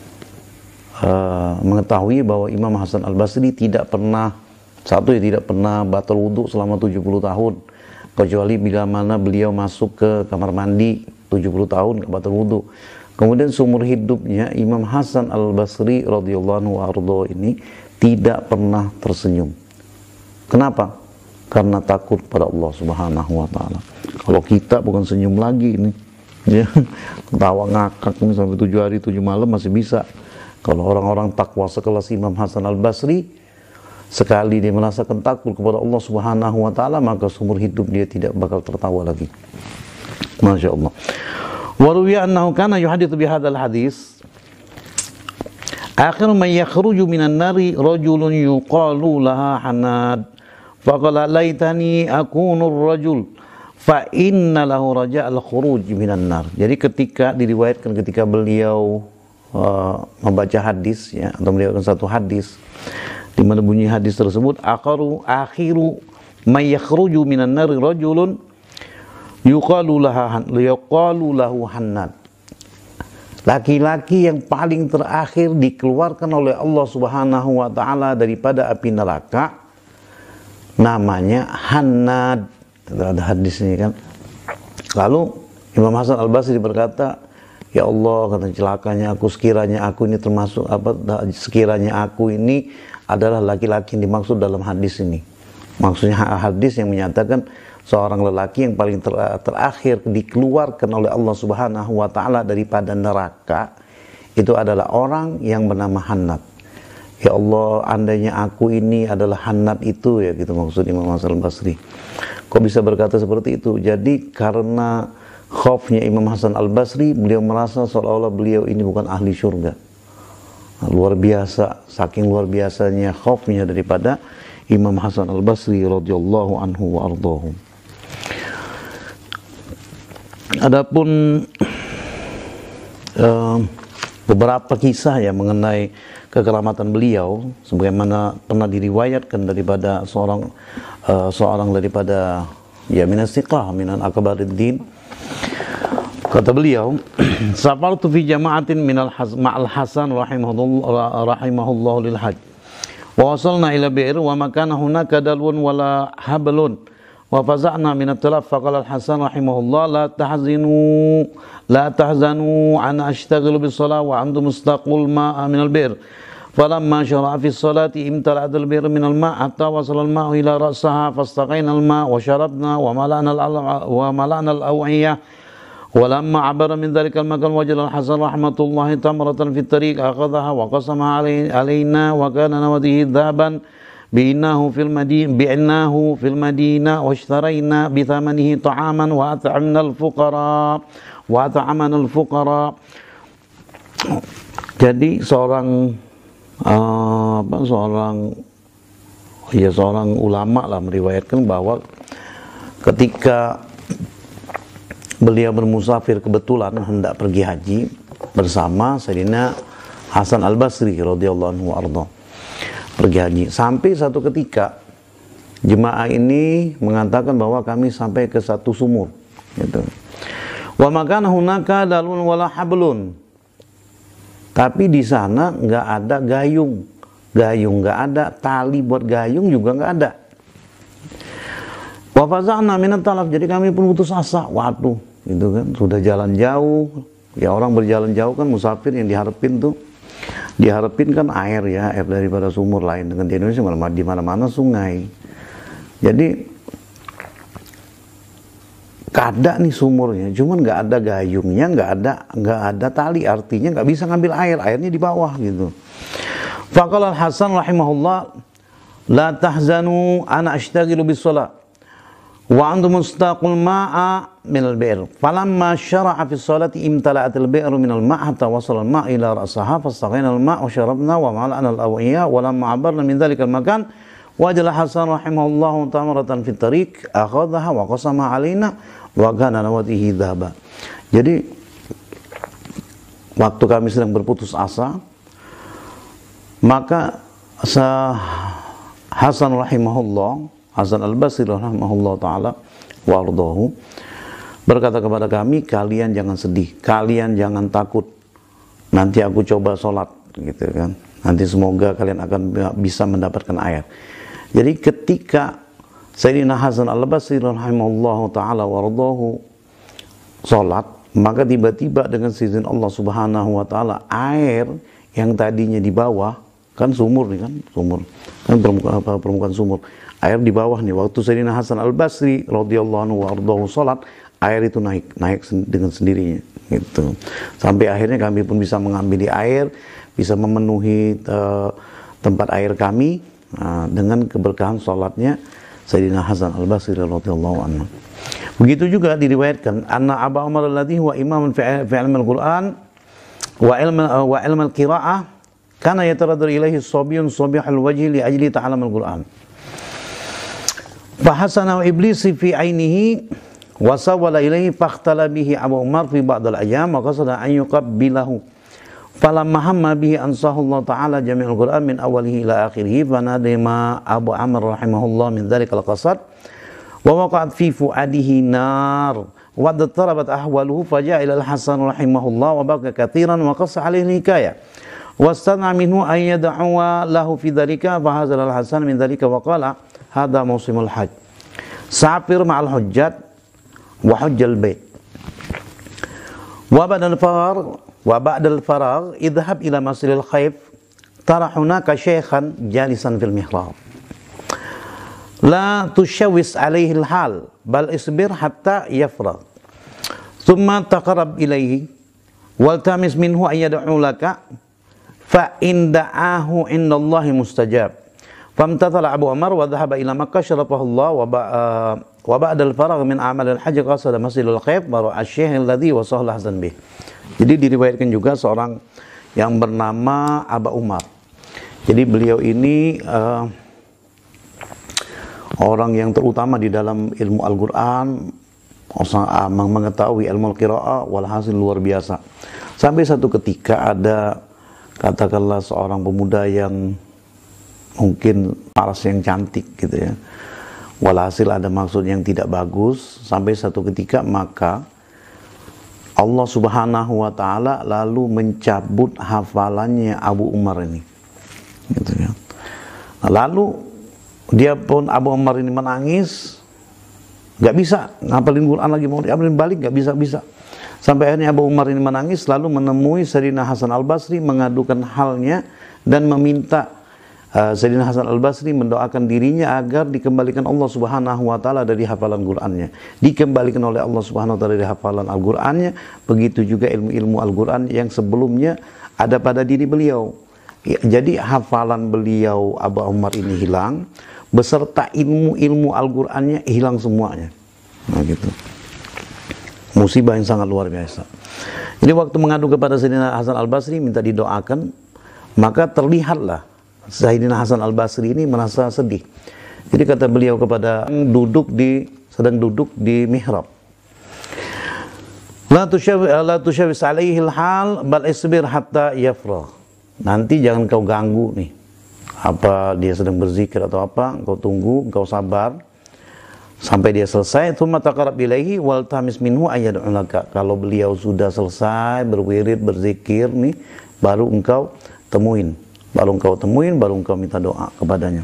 Uh, mengetahui bahwa Imam Hasan Al-Basri tidak pernah, satu ya tidak pernah batal wudhu selama tujuh puluh tahun, kecuali bila mana beliau masuk ke kamar mandi tujuh puluh tahun nggak batal wudhu. Kemudian seumur hidupnya Imam Hasan Al-Basri radhiyallahu anhu ini tidak pernah tersenyum. Kenapa? Karena takut pada Allah Subhanahu wa taala. Kalau kita bukan senyum lagi ini, ya, ketawa ngakak ini sampai tujuh hari tujuh malam masih bisa. Kalau orang-orang takwa sekelas Imam Hasan Al-Basri, sekali dia merasakan takut kepada Allah Subhanahu wa taala, maka seumur hidup dia tidak bakal tertawa lagi. Masya Allah. Wa ruwiya annahu kana yuhaditsu bi hadzal hadis. Akhiru man yakhruju minan nari rajulun yuqalu laha Hanad. Faqala laitani akunu ar-rajul fa inna lahu raja'al khuruj minan nar. Jadi ketika diriwayatkan ketika beliau Uh, membaca hadis ya, atau melihatkan satu hadis di mana bunyi hadis tersebut akhiru akhiru may yakhruju minan nari rajulun yuqalu laha yuqalu lahu Hannad. Laki-laki yang paling terakhir dikeluarkan oleh Allah Subhanahu wa taala daripada api neraka namanya Hannad. Ada hadisnya kan. Lalu Imam Hasan Al-Basri berkata, ya Allah, kata celakanya aku, sekiranya aku ini termasuk apa, sekiranya aku ini adalah laki-laki yang dimaksud dalam hadis ini. Maksudnya hadis yang menyatakan seorang lelaki yang paling ter, terakhir dikeluarkan oleh Allah Subhanahu wa taala daripada neraka itu adalah orang yang bernama Hannad. Ya Allah, andainya aku ini adalah Hannad itu ya, gitu maksud Imam Hasan Al-Basri. Kok bisa berkata seperti itu? Jadi karena khaufnya Imam Hasan Al-Basri, beliau merasa seolah-olah beliau ini bukan ahli surga. Nah, luar biasa, saking luar biasanya khaufnya daripada Imam Hasan Al-Basri radhiyallahu anhu wa ardhahu. Adapun uh, beberapa kisah ya mengenai kekeramatan beliau, sebagaimana pernah diriwayatkan daripada seorang uh, seorang daripada ya minas siqah minan akbariddin. Kata beliau, safartu fi jama'atin minal ma'al Hasan rahimahullah rahimahullah lil hajj. Wa wasalna ila bi'r wa makana hunaka dalwun wala hablun. Wa faza'na min at-talaf faqala al-Hasan rahimahullah la tahzinu la tahzanu ana ashtaghilu bis shalah wa antum mustaqul ma'a min al-bi'r. Falamma shara'a fi as-salati imtala'at al-bi'r min al-ma' hatta wasala al-ma'u ila ra'saha fastaqayna al-ma' wa sharabna wa mala'na wa mala'na al-aw'iyah. ولما عبر من ذلك المكان وجد الحسن رحمة الله تمرة في الطريق أخذها وقسمها علينا وكان نوده ذهبا بعناه في المدينة بعناه في المدينة واشترينا بثمنه طعاما وأطعمنا الفقراء وأطعمنا الفقراء. Jadi seorang uh, apa seorang ya seorang ulama lah meriwayatkan bahwa ketika beliau bermusafir kebetulan hendak pergi haji bersama Sayyidina Hasan Al-Basri radhiyallahu anhu arda pergi haji. Sampai satu ketika jemaah ini mengatakan bahwa kami sampai ke satu sumur gitu. Wa makana hunaka dalun wala hablun. Tapi di sana nggak ada gayung. Gayung nggak ada, tali buat gayung juga nggak ada. Wa faza'na minat talaf, jadi kami pun putus asa. Waduh, gitu kan, sudah jalan jauh. Ya orang berjalan jauh kan musafir yang diharapin tuh, diharapin kan air ya, air daripada sumur lain. Dengan di Indonesia malah di mana-mana sungai. Jadi ada nih sumurnya, cuman nggak ada gayungnya, nggak ada nggak ada tali, artinya nggak bisa ngambil air, airnya di bawah gitu. Faqala Al-Hasan rahimahullah, la tahzanu ana ashtaghilu bis shalah wa antum mustaqul ma'a min al-bi'r. Falamma syara'a fi sholati imtala'at al-bi'ru min al-ma' hatta wasala al-ma' ila ra'saha fastaghayna al-ma' wa sharabna wa mala'na al-awiyya wa lamma 'abarna min dhalika al-makan wajala Hasan rahimahullah tamaratan fi tariq akhadhaha wa qasama 'alaina wa kana nawatihi dhahaba. Jadi waktu kami sedang berputus asa, maka Hasan rahimahullah, Hasan Al-Basri rahimahullah ta'ala wa ardahu berkata kepada kami, kalian jangan sedih, kalian jangan takut, nanti aku coba sholat gitu kan, nanti semoga kalian akan bisa mendapatkan air. Jadi ketika Sayyidina Hasan Al-Basri rahimahullah ta'ala wa ardahu sholat, maka tiba-tiba dengan izin Allah subhanahu wa ta'ala, air yang tadinya di bawah, kan sumur nih kan, sumur kan permukaan, permukaan sumur, air di bawah nih, waktu Sayyidina Hasan Al-Basri radhiyallahu anhu wa ardahu salat, air itu naik naik dengan sendirinya gitu, sampai akhirnya kami pun bisa mengambil air, bisa memenuhi uh, tempat air kami uh, dengan keberkahan salatnya Sayyidina Hasan Al-Basri radhiyallahu anhu. Begitu juga diriwayatkan anna Abu Umar alladhi huwa imamun fi ilmi al-Qur'an wa ilmi wa ilmi al-qira'ah kana yataraddu ilaihi sabiyyun sabihul wajhi li ajli ta'allum al-Qur'an. Fa hasana iblisi fi ainihi wa sawala ilaihi fakhtala bihi Abu Umar fi ba'd al-ayyam wa qasada an yuqabbilahu. Falamma hamma bihi ansahullah ta'ala jami'ul Qur'an min awalihi ila akhirih fa nadima Abu Amr rahimahullah min dzalikal qasad wa waqa'at fi fuadihi nar wa darabat ahwaluhu faja'a ila al-Hasan rahimahullah wa baka katsiran wa qassa alaihi hikayah wastana minhu an yad'uwa lahu fi dzalika fa hazal al-Hasan min dzalika wa qala hadha mausimul hajj safir ma'al hujjat wa hujjal bait wa badal faragh wa ba'dal faragh idhhab ila masjidil khayf tara hunaka shaykhan jalisan fil mihrab la tushawwis alaihi al-hal bal isbir hatta yafragh thumma taqarrab ilaihi waltamis minhu an yad'u laka fa in da'ahu indallahi mustajab. Famtathala Abu Umar wa dhahaba ila Makkah syarafahu Allah wa uh, wa ba'da al-faragh min amal al-hajj qasada Masjidil Khayf wa ra'a asy-syaykh alladhi wasahu Hasan bih. Jadi diriwayatkan juga seorang yang bernama Abu Umar. Jadi beliau ini uh, orang yang terutama di dalam ilmu Al-Qur'an, orang mengetahui ilmu al-qiraah, walhasil luar biasa. Sampai satu ketika ada, katakanlah seorang pemuda yang mungkin paras yang cantik gitu ya, walhasil ada maksud yang tidak bagus, sampai satu ketika maka Allah subhanahu wa ta'ala lalu mencabut hafalannya Abu Umar ini gitu ya. Nah, lalu dia pun Abu Umar ini menangis, gak bisa ngapalin Quran lagi, mau diambilin balik gak bisa-bisa. Sampai akhirnya Abu Umar ini menangis, lalu menemui Sayyidina Hasan Al-Basri, mengadukan halnya dan meminta uh, Sayyidina Hasan Al-Basri mendoakan dirinya agar dikembalikan Allah Subhanahu wa taala dari hafalan Qur'annya. Dikembalikan oleh Allah Subhanahu wa taala dari hafalan Al-Qur'annya, begitu juga ilmu-ilmu Al-Qur'an yang sebelumnya ada pada diri beliau. Ya, jadi hafalan beliau Abu Umar ini hilang beserta ilmu-ilmu Al-Qur'annya hilang semuanya. Nah gitu. Musibah yang sangat luar biasa. Jadi waktu mengadu kepada Sayyidina Hasan Al-Basri minta didoakan, maka terlihatlah Sayyidina Hasan Al-Basri ini merasa sedih. Jadi kata beliau kepada duduk di sedang duduk di mihrab, La tushawis alaihi al-hal bal isbir hatta yafragh. nanti jangan kau ganggu nih, apa dia sedang berzikir atau apa, engkau tunggu, engkau sabar sampai dia selesai. Tsumma taqarrab ilaihi wal tamis minhu ayyad'unaka. Kalau beliau sudah selesai berwirid, berzikir nih, baru engkau temuin, baru engkau temuin, baru engkau minta doa kepadanya.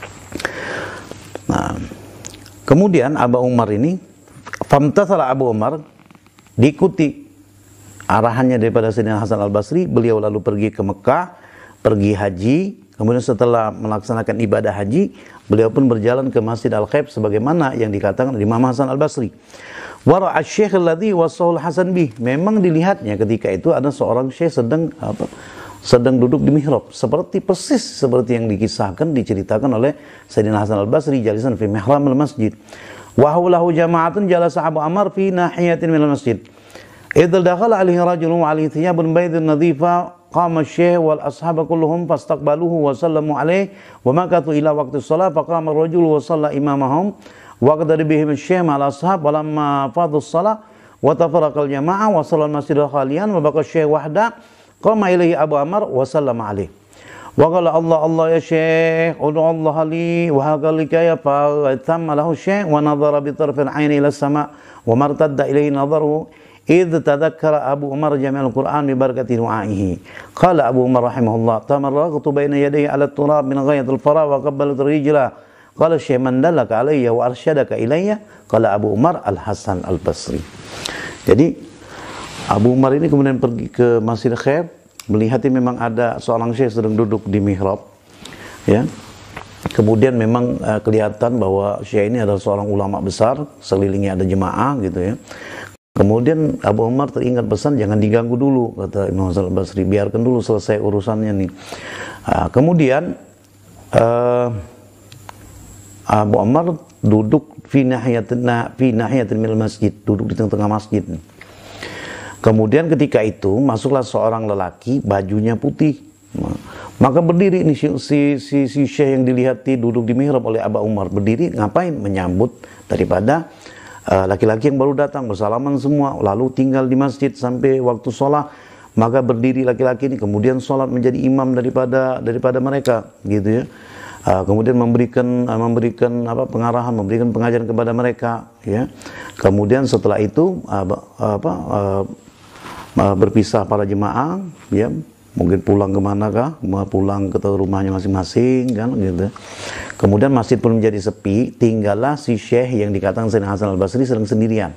Nah, kemudian Abu Umar ini, famtathala Abu Umar, diikuti arahannya daripada Sayyidina Hasan Al-Basri. Beliau lalu pergi ke Mekah, pergi haji. Kemudian setelah melaksanakan ibadah haji, beliau pun berjalan ke Masjid Al-Khaib sebagaimana yang dikatakan oleh Imam Hasan Al-Basri. Wara asy-syekh alladhi wasahul Hasan bih. Memang dilihatnya ketika itu ada seorang syekh sedang apa? sedang duduk di mihrab, seperti persis seperti yang dikisahkan, diceritakan oleh Sayyidina Hasan Al-Basri, jalisan fi mihramil masjid. Wa hawlahu jama'atun jalasa Abu Amr fi nahiyatin minal masjid. Idza dakhala alaihi rajulun wa alaihi thiyabun baydun nadhifa qama asy-syekh wal ashab kulluhum fastaqbaluhu wa sallamu alaihi wa makathu ila waqti shalah faqama ar-rajul wa shalla imamahum wa qadara bihim asy-syekh ma'al ashab wa lamma fadhu shalah wa tafarraqa al-jama'ah wa shalla al-masjid khalian wa baqa asy-syekh wahda qama ilaihi Abu Amr wa sallama alaihi wa qala Allah Allah ya syekh ud'u Allah li wa hakalika ya fa tamma lahu syekh wa nadhara bi tarfil aini ila as-sama' wa martadda ilaihi nadharuhu idh tadhakkara Abu Umar jami'al Qur'an bi barakati du'aihi. Qala Abu Umar rahimahullah tamarraqtu baina yadayhi ala turab min ghayatil fara wa qabbaltu rijla. Qala syekh man dallaka alayya wa arsyadaka ilayya. Qala Abu Umar Al-Hasan Al-Basri. Jadi Abu Umar ini kemudian pergi ke Masjid Khair, melihat memang ada seorang syekh sedang duduk di mihrab, ya. Kemudian memang uh, kelihatan bahwa syekh ini adalah seorang ulama besar, sekelilingnya ada jemaah gitu ya. Kemudian Abu Umar teringat pesan, jangan diganggu dulu, kata Imam Hasan Al-Basri, biarkan dulu selesai urusannya nih. Uh, kemudian uh, Abu Umar duduk fi nahiyatin fi nahiyatin minal masjid, duduk di tengah-tengah masjid. Kemudian ketika itu masuklah seorang lelaki, bajunya putih. Maka berdiri ini si si si, si syekh yang dilihati duduk di mihrab oleh Abu Umar, berdiri ngapain? Menyambut daripada laki-laki uh, yang baru datang, bersalaman semua, lalu tinggal di masjid sampai waktu sholat. Maka berdiri laki-laki ini, kemudian sholat menjadi imam daripada daripada mereka, gitu ya. Uh, kemudian memberikan uh, memberikan apa pengarahan, memberikan pengajaran kepada mereka, ya. Kemudian setelah itu uh, apa uh, uh, berpisah para jemaah, ya, mungkin pulang kemanakah, mau pulang ke rumahnya masing-masing, kan, gitu. Kemudian masjid pun menjadi sepi, tinggallah si syekh yang dikatakan Sayyidina Hasan Al-Basri sedang sendirian.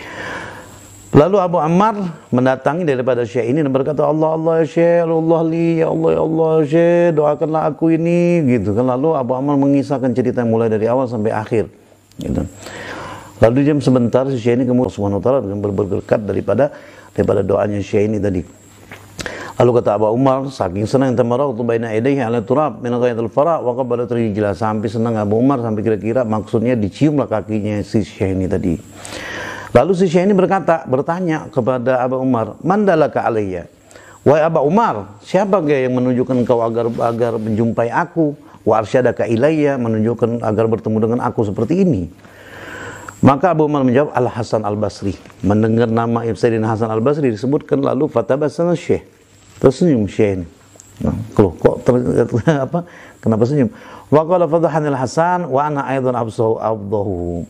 Lalu Abu Ammar mendatangi daripada syekh ini dan berkata, Allah Allah ya syekh, Allah li, ya Allah ya Allah ya syekh, doakanlah aku ini, gitu kan. Lalu Abu Ammar mengisahkan cerita yang mulai dari awal sampai akhir, gitu. Lalu diam sebentar, si syekh ini kemudian Subhanahu wa ta'ala dengan berberkat daripada daripada doanya syekh ini tadi. Lalu kata Abu Umar, saking senang tamarraqtu baina yadayhi ala turab min ghayatil fara wa qabbalat rijlah, sampai senang Abu Umar sampai kira-kira maksudnya diciumlah kakinya si syekh ini tadi. Lalu si syekh ini berkata, bertanya kepada Abu Umar, "Mandalaka alayya?" Wahai Abu Umar, siapa yang menunjukkan engkau agar agar menjumpai aku? Wa arsyadaka ilayya, menunjukkan agar bertemu dengan aku seperti ini. Maka Abu Umar menjawab, Al-Hasan Al-Basri. Mendengar nama Sayyidina Hasan Al-Basri disebutkan, lalu fatabassama syekh. Tersenyum syekh ini. Nah, loh, kok ter, apa? Kenapa senyum? Wa qala fadhahanil Hasan wa ana aidan absahu abdahu.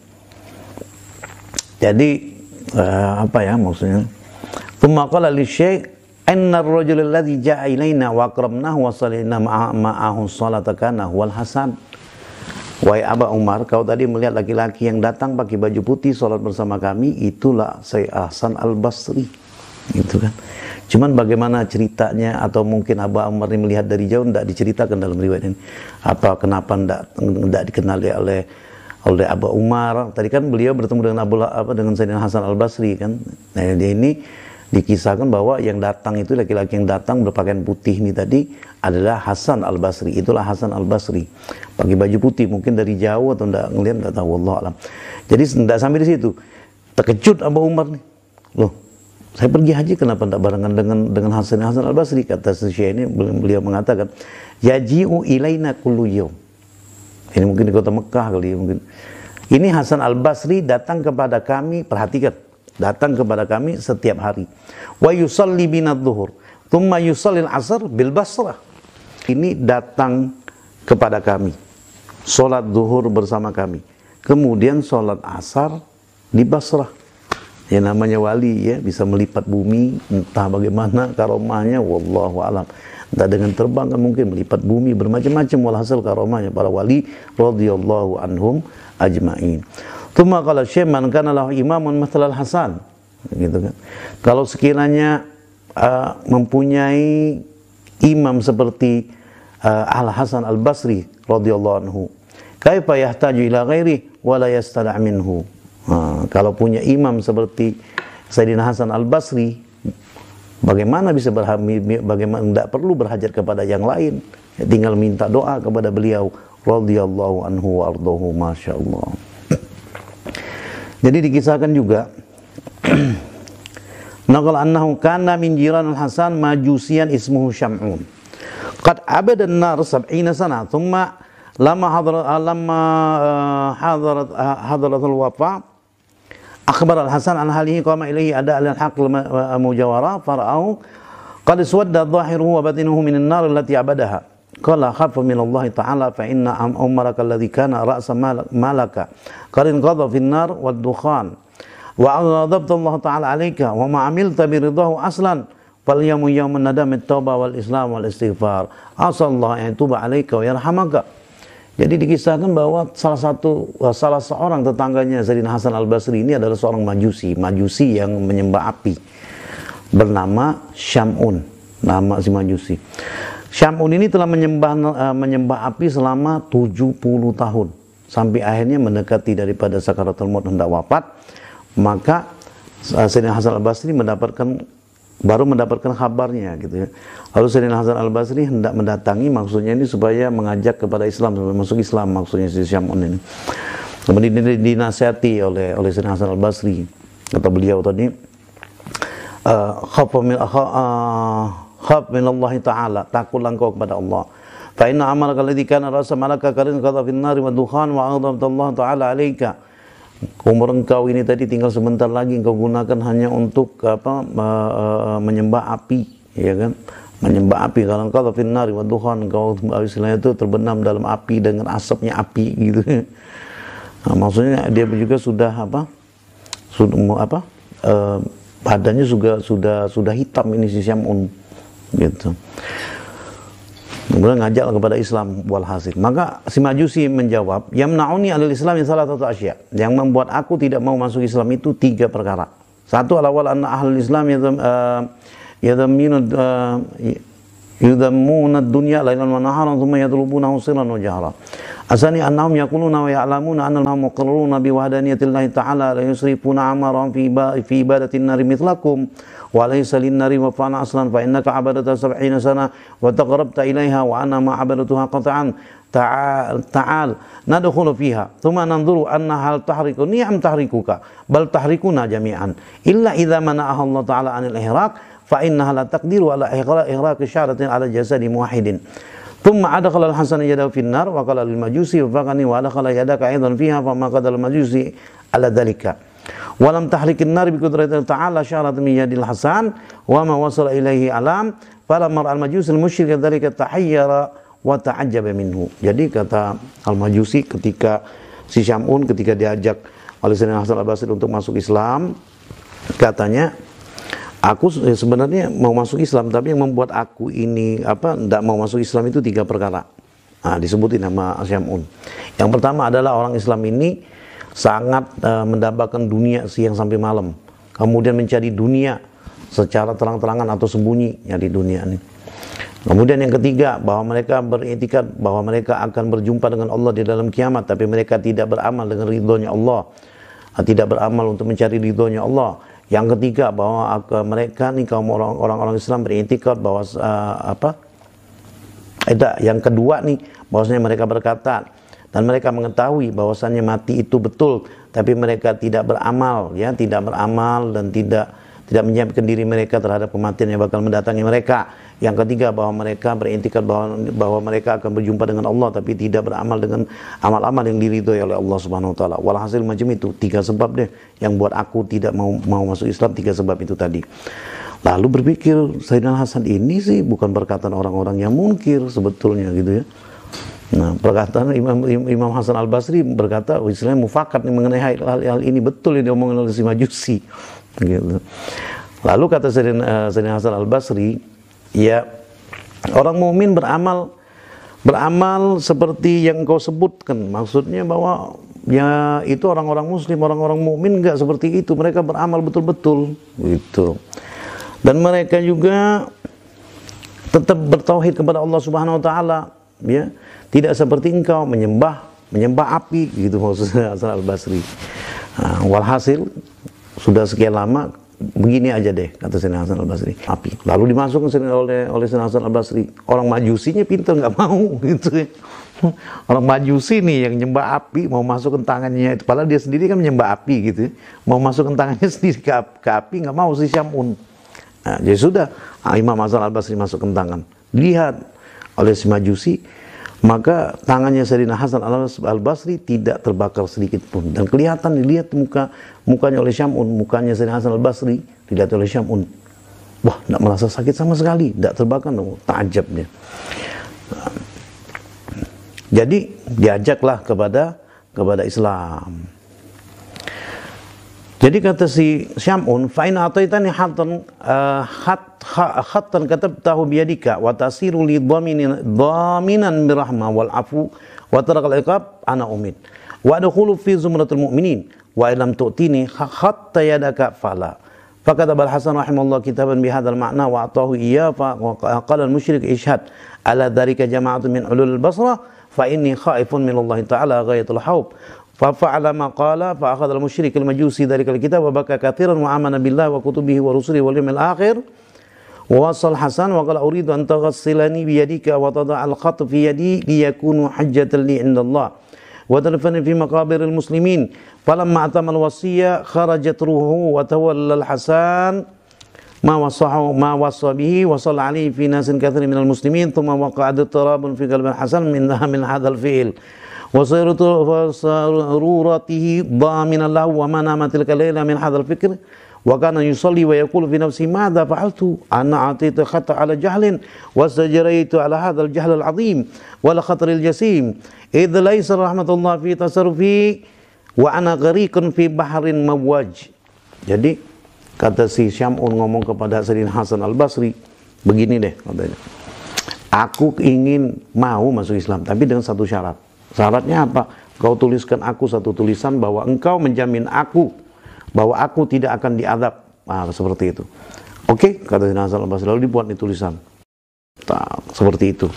Jadi uh, apa ya maksudnya? Tsumma qala li syekh inna ar-rajula alladhi ja'a ilaina wa aqrabnahu wa sallayna ma'ahu salata kana huwal Hasan. Wahai Abu Umar, kau tadi melihat laki-laki yang datang pakai baju putih salat bersama kami, itulah Sayyid Hasan Al-Basri. Gitu kan. Cuman bagaimana ceritanya, atau mungkin Abu Umar ini melihat dari jauh, tidak diceritakan dalam riwayat ini. Apa kenapa tidak tidak dikenali oleh oleh Abu Umar? Tadi kan beliau bertemu dengan Abu apa dengan Sayyidina Hasan Al-Basri kan. Nah, dia ini dikisahkan bahwa yang datang itu, laki-laki yang datang berpakaian putih ini tadi adalah Hasan Al-Basri. Itulah Hasan Al-Basri. Pakai baju putih, mungkin dari jauh atau tidak ngelihat, tidak tahu, wallahu alam. Jadi tidak sampai di situ. Terkejut Abu Umar nih. Loh, saya pergi haji kenapa tidak barengan dengan dengan Hasan Hasan Al-Basri? Kata Syekh ini, beliau mengatakan, yaji'u ilaina kullu yawm. Ini mungkin di kota Mekah kali ya, mungkin. Ini Hasan Al-Basri datang kepada kami, perhatikan, datang kepada kami setiap hari. Wa yusalli bina dhuhur thumma yusallil asr bil Basrah. Ini datang kepada kami, sholat zuhur bersama kami, kemudian sholat asar di Basrah. Ya namanya wali ya, bisa melipat bumi, entah bagaimana karomahnya, wallahu alam. Entah dengan terbang kan mungkin melipat bumi, bermacam-macam walhasil karomahnya para wali radhiyallahu anhum ajma'in. Tsumma qala syekh man kana lahu imamun mathalal Hasan, gitu kan. Kalau sekiranya uh, mempunyai imam seperti uh, Al Hasan Al Basri radhiyallahu anhu, kaifa yahtaju ila ghairi wa la yastana' minhu. Nah, kalau punya imam seperti Sayyidina Hasan Al-Basri, bagaimana bisa berhajat, bagaimana tidak perlu berhajat kepada yang lain, ya, tinggal minta doa kepada beliau radhiyallahu anhu wa ardahu, masyaallah. Jadi dikisahkan juga naqal annahu kana min jiran Al-Hasan majusian ismuhu Syam'un qad abada an-nar sab'ina sana thumma lama hadarat lama hadarat hadarat al-wafa akhbar Al-Hasan an halihi qama ilaihi ada al-haq mujawara fara'ahu qad iswadda dhahiruhu wa batinuhu min an-nar allati abadaha qala khafa min Allah ta'ala fa inna umaraka alladhi kana ra'sa malaka qarin qadha fi an-nar wad-dukhan wa ghadabta Allah ta'ala alayka wa ma amilta bi ridahu aslan fal yawmu yawmun nadam at-taubah wal islam wal istighfar asallahu an yatuba alayka wa yarhamaka. Jadi dikisahkan bahwa salah satu salah seorang tetangganya Sayyidina Hasan Al-Basri ini adalah seorang majusi, majusi yang menyembah api, bernama Syam'un, nama si majusi. Syam'un ini telah menyembah uh, menyembah api selama tujuh puluh tahun sampai akhirnya mendekati daripada sakaratul maut hendak wafat, maka uh, Sayyidina Hasan Al-Basri mendapatkan baru mendapatkan kabarnya gitu ya. Lalu Sayyidina Hasan Al-Basri hendak mendatangi, maksudnya ini supaya mengajak kepada Islam, supaya masuk Islam, maksudnya si Syam'un ini. Kemudian dinasihati oleh oleh Sayyidina Hasan Al-Basri, kata beliau tadi, khaf min khaf min Allah Ta'ala, takutlah engkau kepada Allah. Fa inna amalaka alladhi kana ra'sa malaka qarin qadha fin nari wa dukhan wa aghdabta Allah Ta'ala 'alaika. Umur engkau ini tadi tinggal sebentar lagi, engkau gunakan hanya untuk apa menyembah api, ya kan? Menyembah api. Kalau engkau finnari wa dukhan, engkau istilahnya itu terbenam dalam api dengan asapnya api gitu. Nah, maksudnya dia juga sudah apa? Sudah apa? Eh, badannya juga sudah sudah hitam ini si Syam'un gitu. Kemudian ngajak kepada Islam walhasil. Maka si majusi menjawab, yamna'uni alil Islam salah satu asya. Yang membuat aku tidak mau masuk Islam itu tiga perkara. Satu, al-awwal anna ahlul Islam yadhammuna yudhammuna ad-dunya lailan wa naharan thumma yatlubunahu sirran wa jahra. Asani annahum yaquluna wa ya'lamuna anna annahum muqirruna bi wahdaniyatillahi ta'ala la yusrifuna amaran fi fi ibadatin nari mithlakum wa laysa lin-nari wa fa'ana aslan fa innaka abadata sab'ina sana wa taqarrabta ilaiha wa ana ma abadatuha qat'an ta'al ta'al nadkhulu fiha thumma nanzuru anna hal tahriku ni'am tahrikuka bal tahrikuna jami'an illa idza mana'aha Allah ta'ala 'anil ihraq fa innaha la taqdiru ala ihraq syaratin ala jasadi muwahhidin. Thumma adkhala al-Hasan yadahu fi an-nar wa qala lil-majusi wafaqani wa adkhala yadaka aidan fiha fa ma qadala al-majusi ala dhalika. Wa lam tahrik an-nar bi qudratihi ta'ala syarat min yadil Hasan wa ma wasala ilaihi alam falamma al-majusi al-musyrik dhalika tahayyara wa ta'ajjaba minhu. Jadi kata al-majusi ketika si Syam'un ketika diajak oleh Sayyidina Hasan Al-Basri untuk masuk Islam, katanya, aku sebenarnya mau masuk Islam, tapi yang membuat aku ini apa tidak mau masuk Islam itu tiga perkara. Nah, disebutin nama Syam'un. Yang pertama adalah orang Islam ini sangat uh, mendambakan dunia siang sampai malam, kemudian mencari dunia secara terang-terangan atau sembunyi ya di dunia ini. Kemudian yang ketiga, bahwa mereka beriktikad bahwa mereka akan berjumpa dengan Allah di dalam kiamat, tapi mereka tidak beramal dengan ridhonya Allah, tidak beramal untuk mencari ridhonya Allah. Yang ketiga, bahwa mereka nih kaum orang-orang Islam beriktikad bahwa uh, apa? Ada yang kedua nih, bahwasanya mereka berkata dan mereka mengetahui bahwasannya mati itu betul, tapi mereka tidak beramal, ya, tidak beramal dan tidak tidak menyiapkan diri mereka terhadap kematian yang bakal mendatangi mereka. Yang ketiga, bahwa mereka beriktikad bahwa, bahwa mereka akan berjumpa dengan Allah tapi tidak beramal dengan amal-amal yang diridhoi oleh Allah Subhanahu wa taala. Walhasil macam itu, tiga sebab deh yang buat aku tidak mau mau masuk Islam, tiga sebab itu tadi. Lalu berpikir, Sayyidina Hasan ini sih bukan perkataan orang-orang yang munkir sebetulnya gitu ya. Nah, perkataan Imam Imam Hasan Al-Basri berkata, oh, istilahnya mufakat mengenai hal-hal ini, betul yang diomongin oleh si Majusi gitu. Lalu kata Sayyidina, Sayyidina Hasan Al-Basri, ya, orang mukmin beramal beramal seperti yang kau sebutkan. Maksudnya bahwa ya itu orang-orang muslim, orang-orang mukmin enggak seperti itu. Mereka beramal betul-betul gitu. Dan mereka juga tetap bertauhid kepada Allah Subhanahu wa taala, ya. Tidak seperti engkau menyembah menyembah api gitu maksudnya Hasan Al-Basri. Nah, walhasil sudah sekian lama begini aja deh kata Sayyidina Hasan Al-Basri, api. Lalu dimasukkan oleh oleh Sayyidina Hasan Al-Basri. Orang Majusinya pintar nggak mau gitu ya. Orang Majusi nih yang nyembah api mau masukkan tangannya itu, padahal dia sendiri kan menyembah api gitu ya. Mau masukkan tangannya sendiri ke, ke api nggak mau si Syamun. Nah, jadi sudah Imam Hasan Al-Basri masukkan tangan. Lihat oleh si Majusi, maka tangannya Sayyidina Hasan Al-Basri tidak terbakar sedikit pun. Dan kelihatan dilihat muka mukanya oleh Syamun, mukanya Sayyidina Hasan Al-Basri dilihat oleh Syamun. Wah, tidak merasa sakit sama sekali, tidak terbakar, no. Ta'ajab dia. Nah, jadi diajaklah kepada kepada Islam. Jadi kata si Syamun, fa in ataitani hatan uh, hat hatan katabtahu biyadika wa tasiru li dhaminan dhaminan birahmah wal afu wa tarakal iqab ana umid wa adkhulu fi zumratil mu'minin wa illam tu'tini hatta yadaka fala. Fakataba Al-Hasan rahimahullah kitaban bihadzal ma'na wa atahu iyya fa qala al-musyrik ishhad ala dhalika jama'atun min ulul Basrah fa inni khaifun min Allah ta'ala ghayatul haub. ففعل ما قال فأخذ المشرك المجوسي ذلك الكتاب وبكى كثيرا وآمن بالله وكتبه ورسله واليوم الآخر ووصل حسن وقال أريد أن تغسلني بيدك وتضع الخط في يدي ليكون حجة لي عند الله وتدفن في مقابر المسلمين فلما أتم الوصية خرجت روحه وتولى الحسن ما وصاه ما وصى به وصلى عليه في ناس كثير من المسلمين ثم وقع اضطراب في قلب الحسن من من هذا الفعل وسرورته ضامنا له وما نام تلك الليلة من هذا الفكر وكان يصلي ويقول في نفسه ماذا فعلت أنا أعطيت خط على جهل واستجريت على هذا الجهل العظيم ولا خطر الجسيم إذ ليس رحمة الله في تصرفي وأنا غريق في بحر مواج. Jadi kata si Syamun ngomong kepada Sayyidina Hasan Al-Basri, begini deh katanya, aku ingin mau masuk Islam tapi dengan satu syarat. Syaratnya apa? Kau tuliskan aku satu tulisan bahwa engkau menjamin aku bahwa aku tidak akan diadab. Nah, seperti itu. Oke, kata Sayyidina Hasan Al-Basri, lalu dibuat nih tulisan. Nah, seperti itu.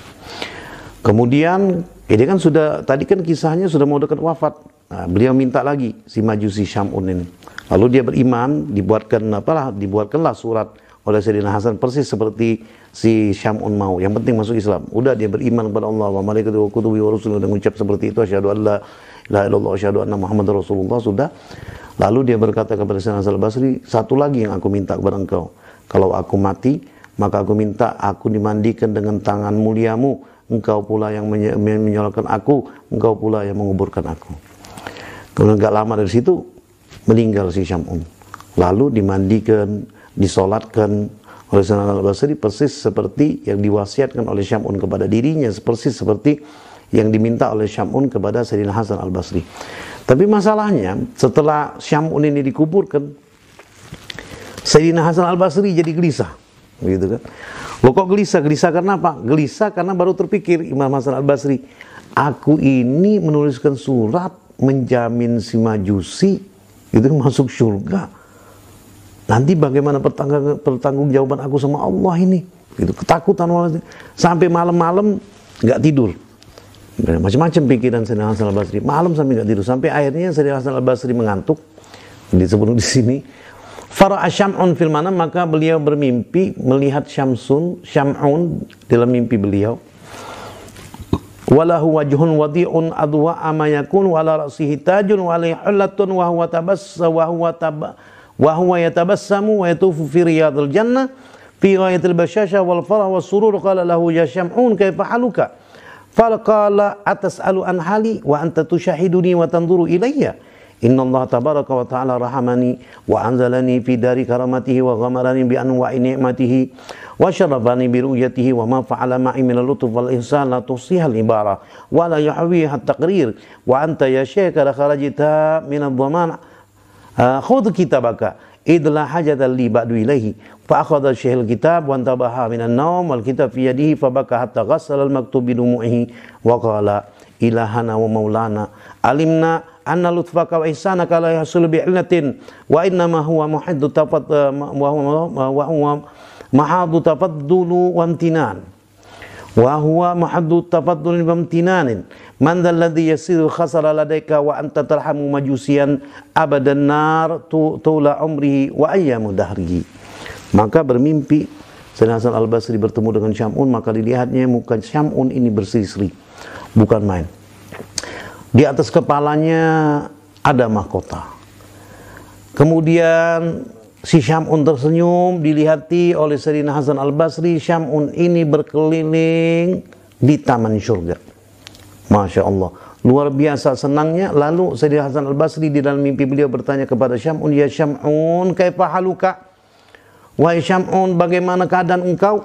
Kemudian, ini kan sudah, tadi kan kisahnya sudah mau dekat wafat. Nah, beliau minta lagi si Majusi Syamun ini. Lalu dia beriman, dibuatkan apalah, dibuatkanlah surat oleh Sayyidina Hasan persis seperti si Syamun mau. Yang penting masuk Islam. Udah dia beriman kepada Allah wa malaikatihi wa kutubihi wa rusulihi dan mengucap seperti itu, asyhadu an la ilaha illallah asyhadu anna Muhammadar Rasulullah, sudah. Lalu dia berkata kepada Sayyidina Hasan Al-Basri, satu lagi yang aku minta kepada engkau. Kalau aku mati, maka aku minta aku dimandikan dengan tangan muliamu. Engkau pula yang menyolokkan aku, engkau pula yang menguburkan aku. Kemudian gak lama dari situ meninggal si Syamun. Lalu dimandikan, disolatkan oleh Sayyidina Al-Basri persis seperti yang diwasiatkan oleh Syamun kepada dirinya, persis seperti yang diminta oleh Syamun kepada Sayyidina Hasan Al-Basri. Tapi masalahnya setelah Syamun ini dikuburkan, Sayyidina Hasan Al-Basri jadi gelisah, begitu kan? Loh kok gelisah? Gelisah karena apa? Gelisah karena baru terpikir Imam Hasan Al-Basri, aku ini menuliskan surat menjamin si Majusi itu masuk surga. Nanti bagaimana pertanggung, pertanggung jawaban aku sama Allah ini? Gitu, ketakutan sampai malam-malam nggak tidur. Macam-macam pikiran Sayyidina Hasan Al-Basri. Malam sampai nggak tidur. Sampai akhirnya Sayyidina Hasan Al-Basri mengantuk. Disebut di sini. Fara'a Syam'un fil manam, maka beliau bermimpi melihat Syamsun, Syam'un dalam mimpi beliau. Walahu wajhun wadi'un adwa ama yakun wala ra'sihi tajun wa alaihi hullatun wa huwa tabassa wa huwa tab wa huwa yatabassamu wa yatufu fi riyadil jannah fi ghayatil bashasha wal farah was surur qala lahu ya Syam'un kaifa haluka faqala atas'alu an hali wa anta tushahiduni wa tanzuru ilayya inna Allah tabaraka wa ta'ala rahamani wa anzalani fi dari karamatihi wa ghamarani bi anwa'i ni'matihi wa syarafani bi ru'yatihi wa ma fa'ala ma'i min al-lutf wal ihsan la tusiha al-ibara wa la yahwiha at-taqrir wa anta ya syekh la kharajta min ad-dhaman khudh kitabaka idla hajatan li ba'du ilaihi fa akhadha syekh al-kitab wa antabaha min an-nawm wal kitab fi yadihi fa baka hatta ghassala al-maktub bi dumu'ihi wa qala ilahana wa maulana alimna anna lutfaka wa ihsanaka la yahsul bi illatin wa innama huwa muhaddu tafat wa huwa wa huwa mahadu tafaddulu wa imtinan wa huwa mahadu tafaddul wa imtinanin man dhal ladhi yasiru khasara ladaika wa anta tarhamu majusian abadan nar tula umrihi wa ayyamu dahrihi. Maka bermimpi Sayyidina Hasan Al-Basri bertemu dengan Syam'un, maka dilihatnya muka Syam'un ini berseri-seri, bukan main. Di atas kepalanya ada mahkota. Kemudian si Syam'un tersenyum, dilihati oleh Sayyidina Hasan Al-Basri. Syam'un ini berkeliling di taman surga. Masya Allah, luar biasa senangnya. Lalu Sayyidina Hasan Al-Basri di dalam mimpi beliau bertanya kepada Syam'un, ya Syam'un kaifa haluka? Wahai Syam'un, bagaimana keadaan engkau?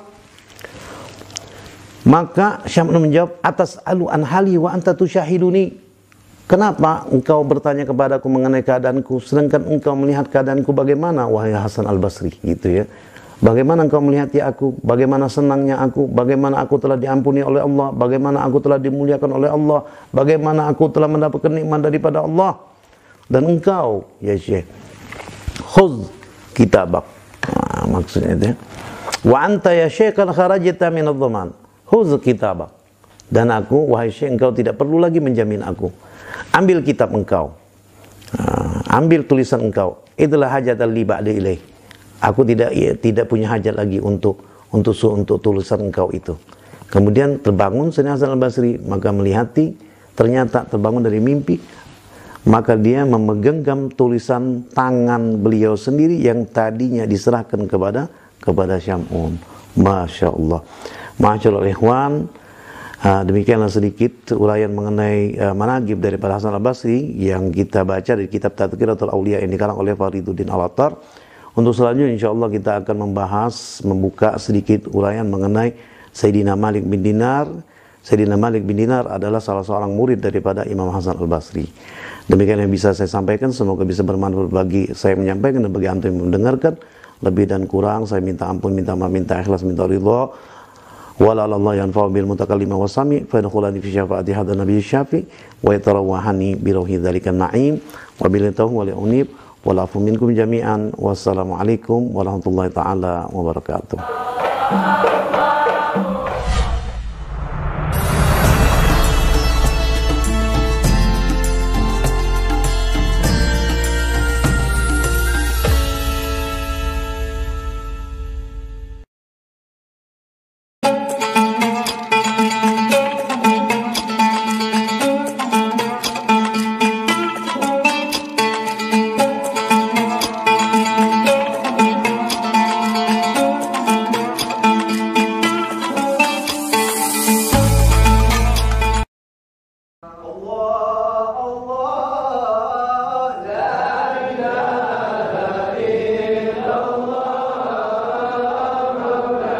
Maka Syam'un menjawab, atas alu an hali wa anta tusyahiduni. Kenapa engkau bertanya kepadaku mengenai keadaanku, sedangkan engkau melihat keadaanku bagaimana, wahai Hasan Al-Basri, gitu ya. Bagaimana engkau melihati aku, bagaimana senangnya aku, bagaimana aku telah diampuni oleh Allah, bagaimana aku telah dimuliakan oleh Allah, bagaimana aku telah mendapatkan nikmat daripada Allah. Dan engkau, ya Syekh, khudh kitabak. Nah, maksudnya itu ya. Wa anta ya Syekh kan kharajta min adh-dhaman. Khudh kitabak. Dan aku, wahai Syekh, engkau tidak perlu lagi menjamin aku. Ambil kitab engkau, uh, ambil tulisan engkau. Itulah hajat li ba'da ilaih. Aku tidak ya, tidak punya hajat lagi untuk untuk untuk tulisan engkau itu. Kemudian terbangun Sayyidina Hasan Al-Basri, maka melihati, ternyata terbangun dari mimpi, maka dia memegenggam tulisan tangan beliau sendiri yang tadinya diserahkan kepada kepada Syam'un. Masya Allah. Masya Allah, ikhwan. Uh, demikianlah sedikit uraian mengenai uh, managib daripada Hasan Al-Basri yang kita baca dari kitab Tadhkiratul Auliya yang dikarang oleh Fariduddin Al-Attar. Untuk selanjutnya insyaallah kita akan membahas, membuka sedikit uraian mengenai Sayyidina Malik bin Dinar. Sayyidina Malik bin Dinar adalah salah seorang murid daripada Imam Hasan Al-Basri. Demikian yang bisa saya sampaikan, semoga bisa bermanfaat bagi saya menyampaikan dan bagi antum yang mendengarkan. Lebih dan kurang saya minta ampun, minta maaf, minta ikhlas, minta ridha. Wala Allah yanfa'u bil mutakallim wa sami fa yadkhulani fi syafaati hadzal nabiy syafi wa yatarawahani bi ruhi dzalika na'im wa bil tawfiq wal unib wal afu minkum jami'an wassalamu alaikum warahmatullahi taala wabarakatuh.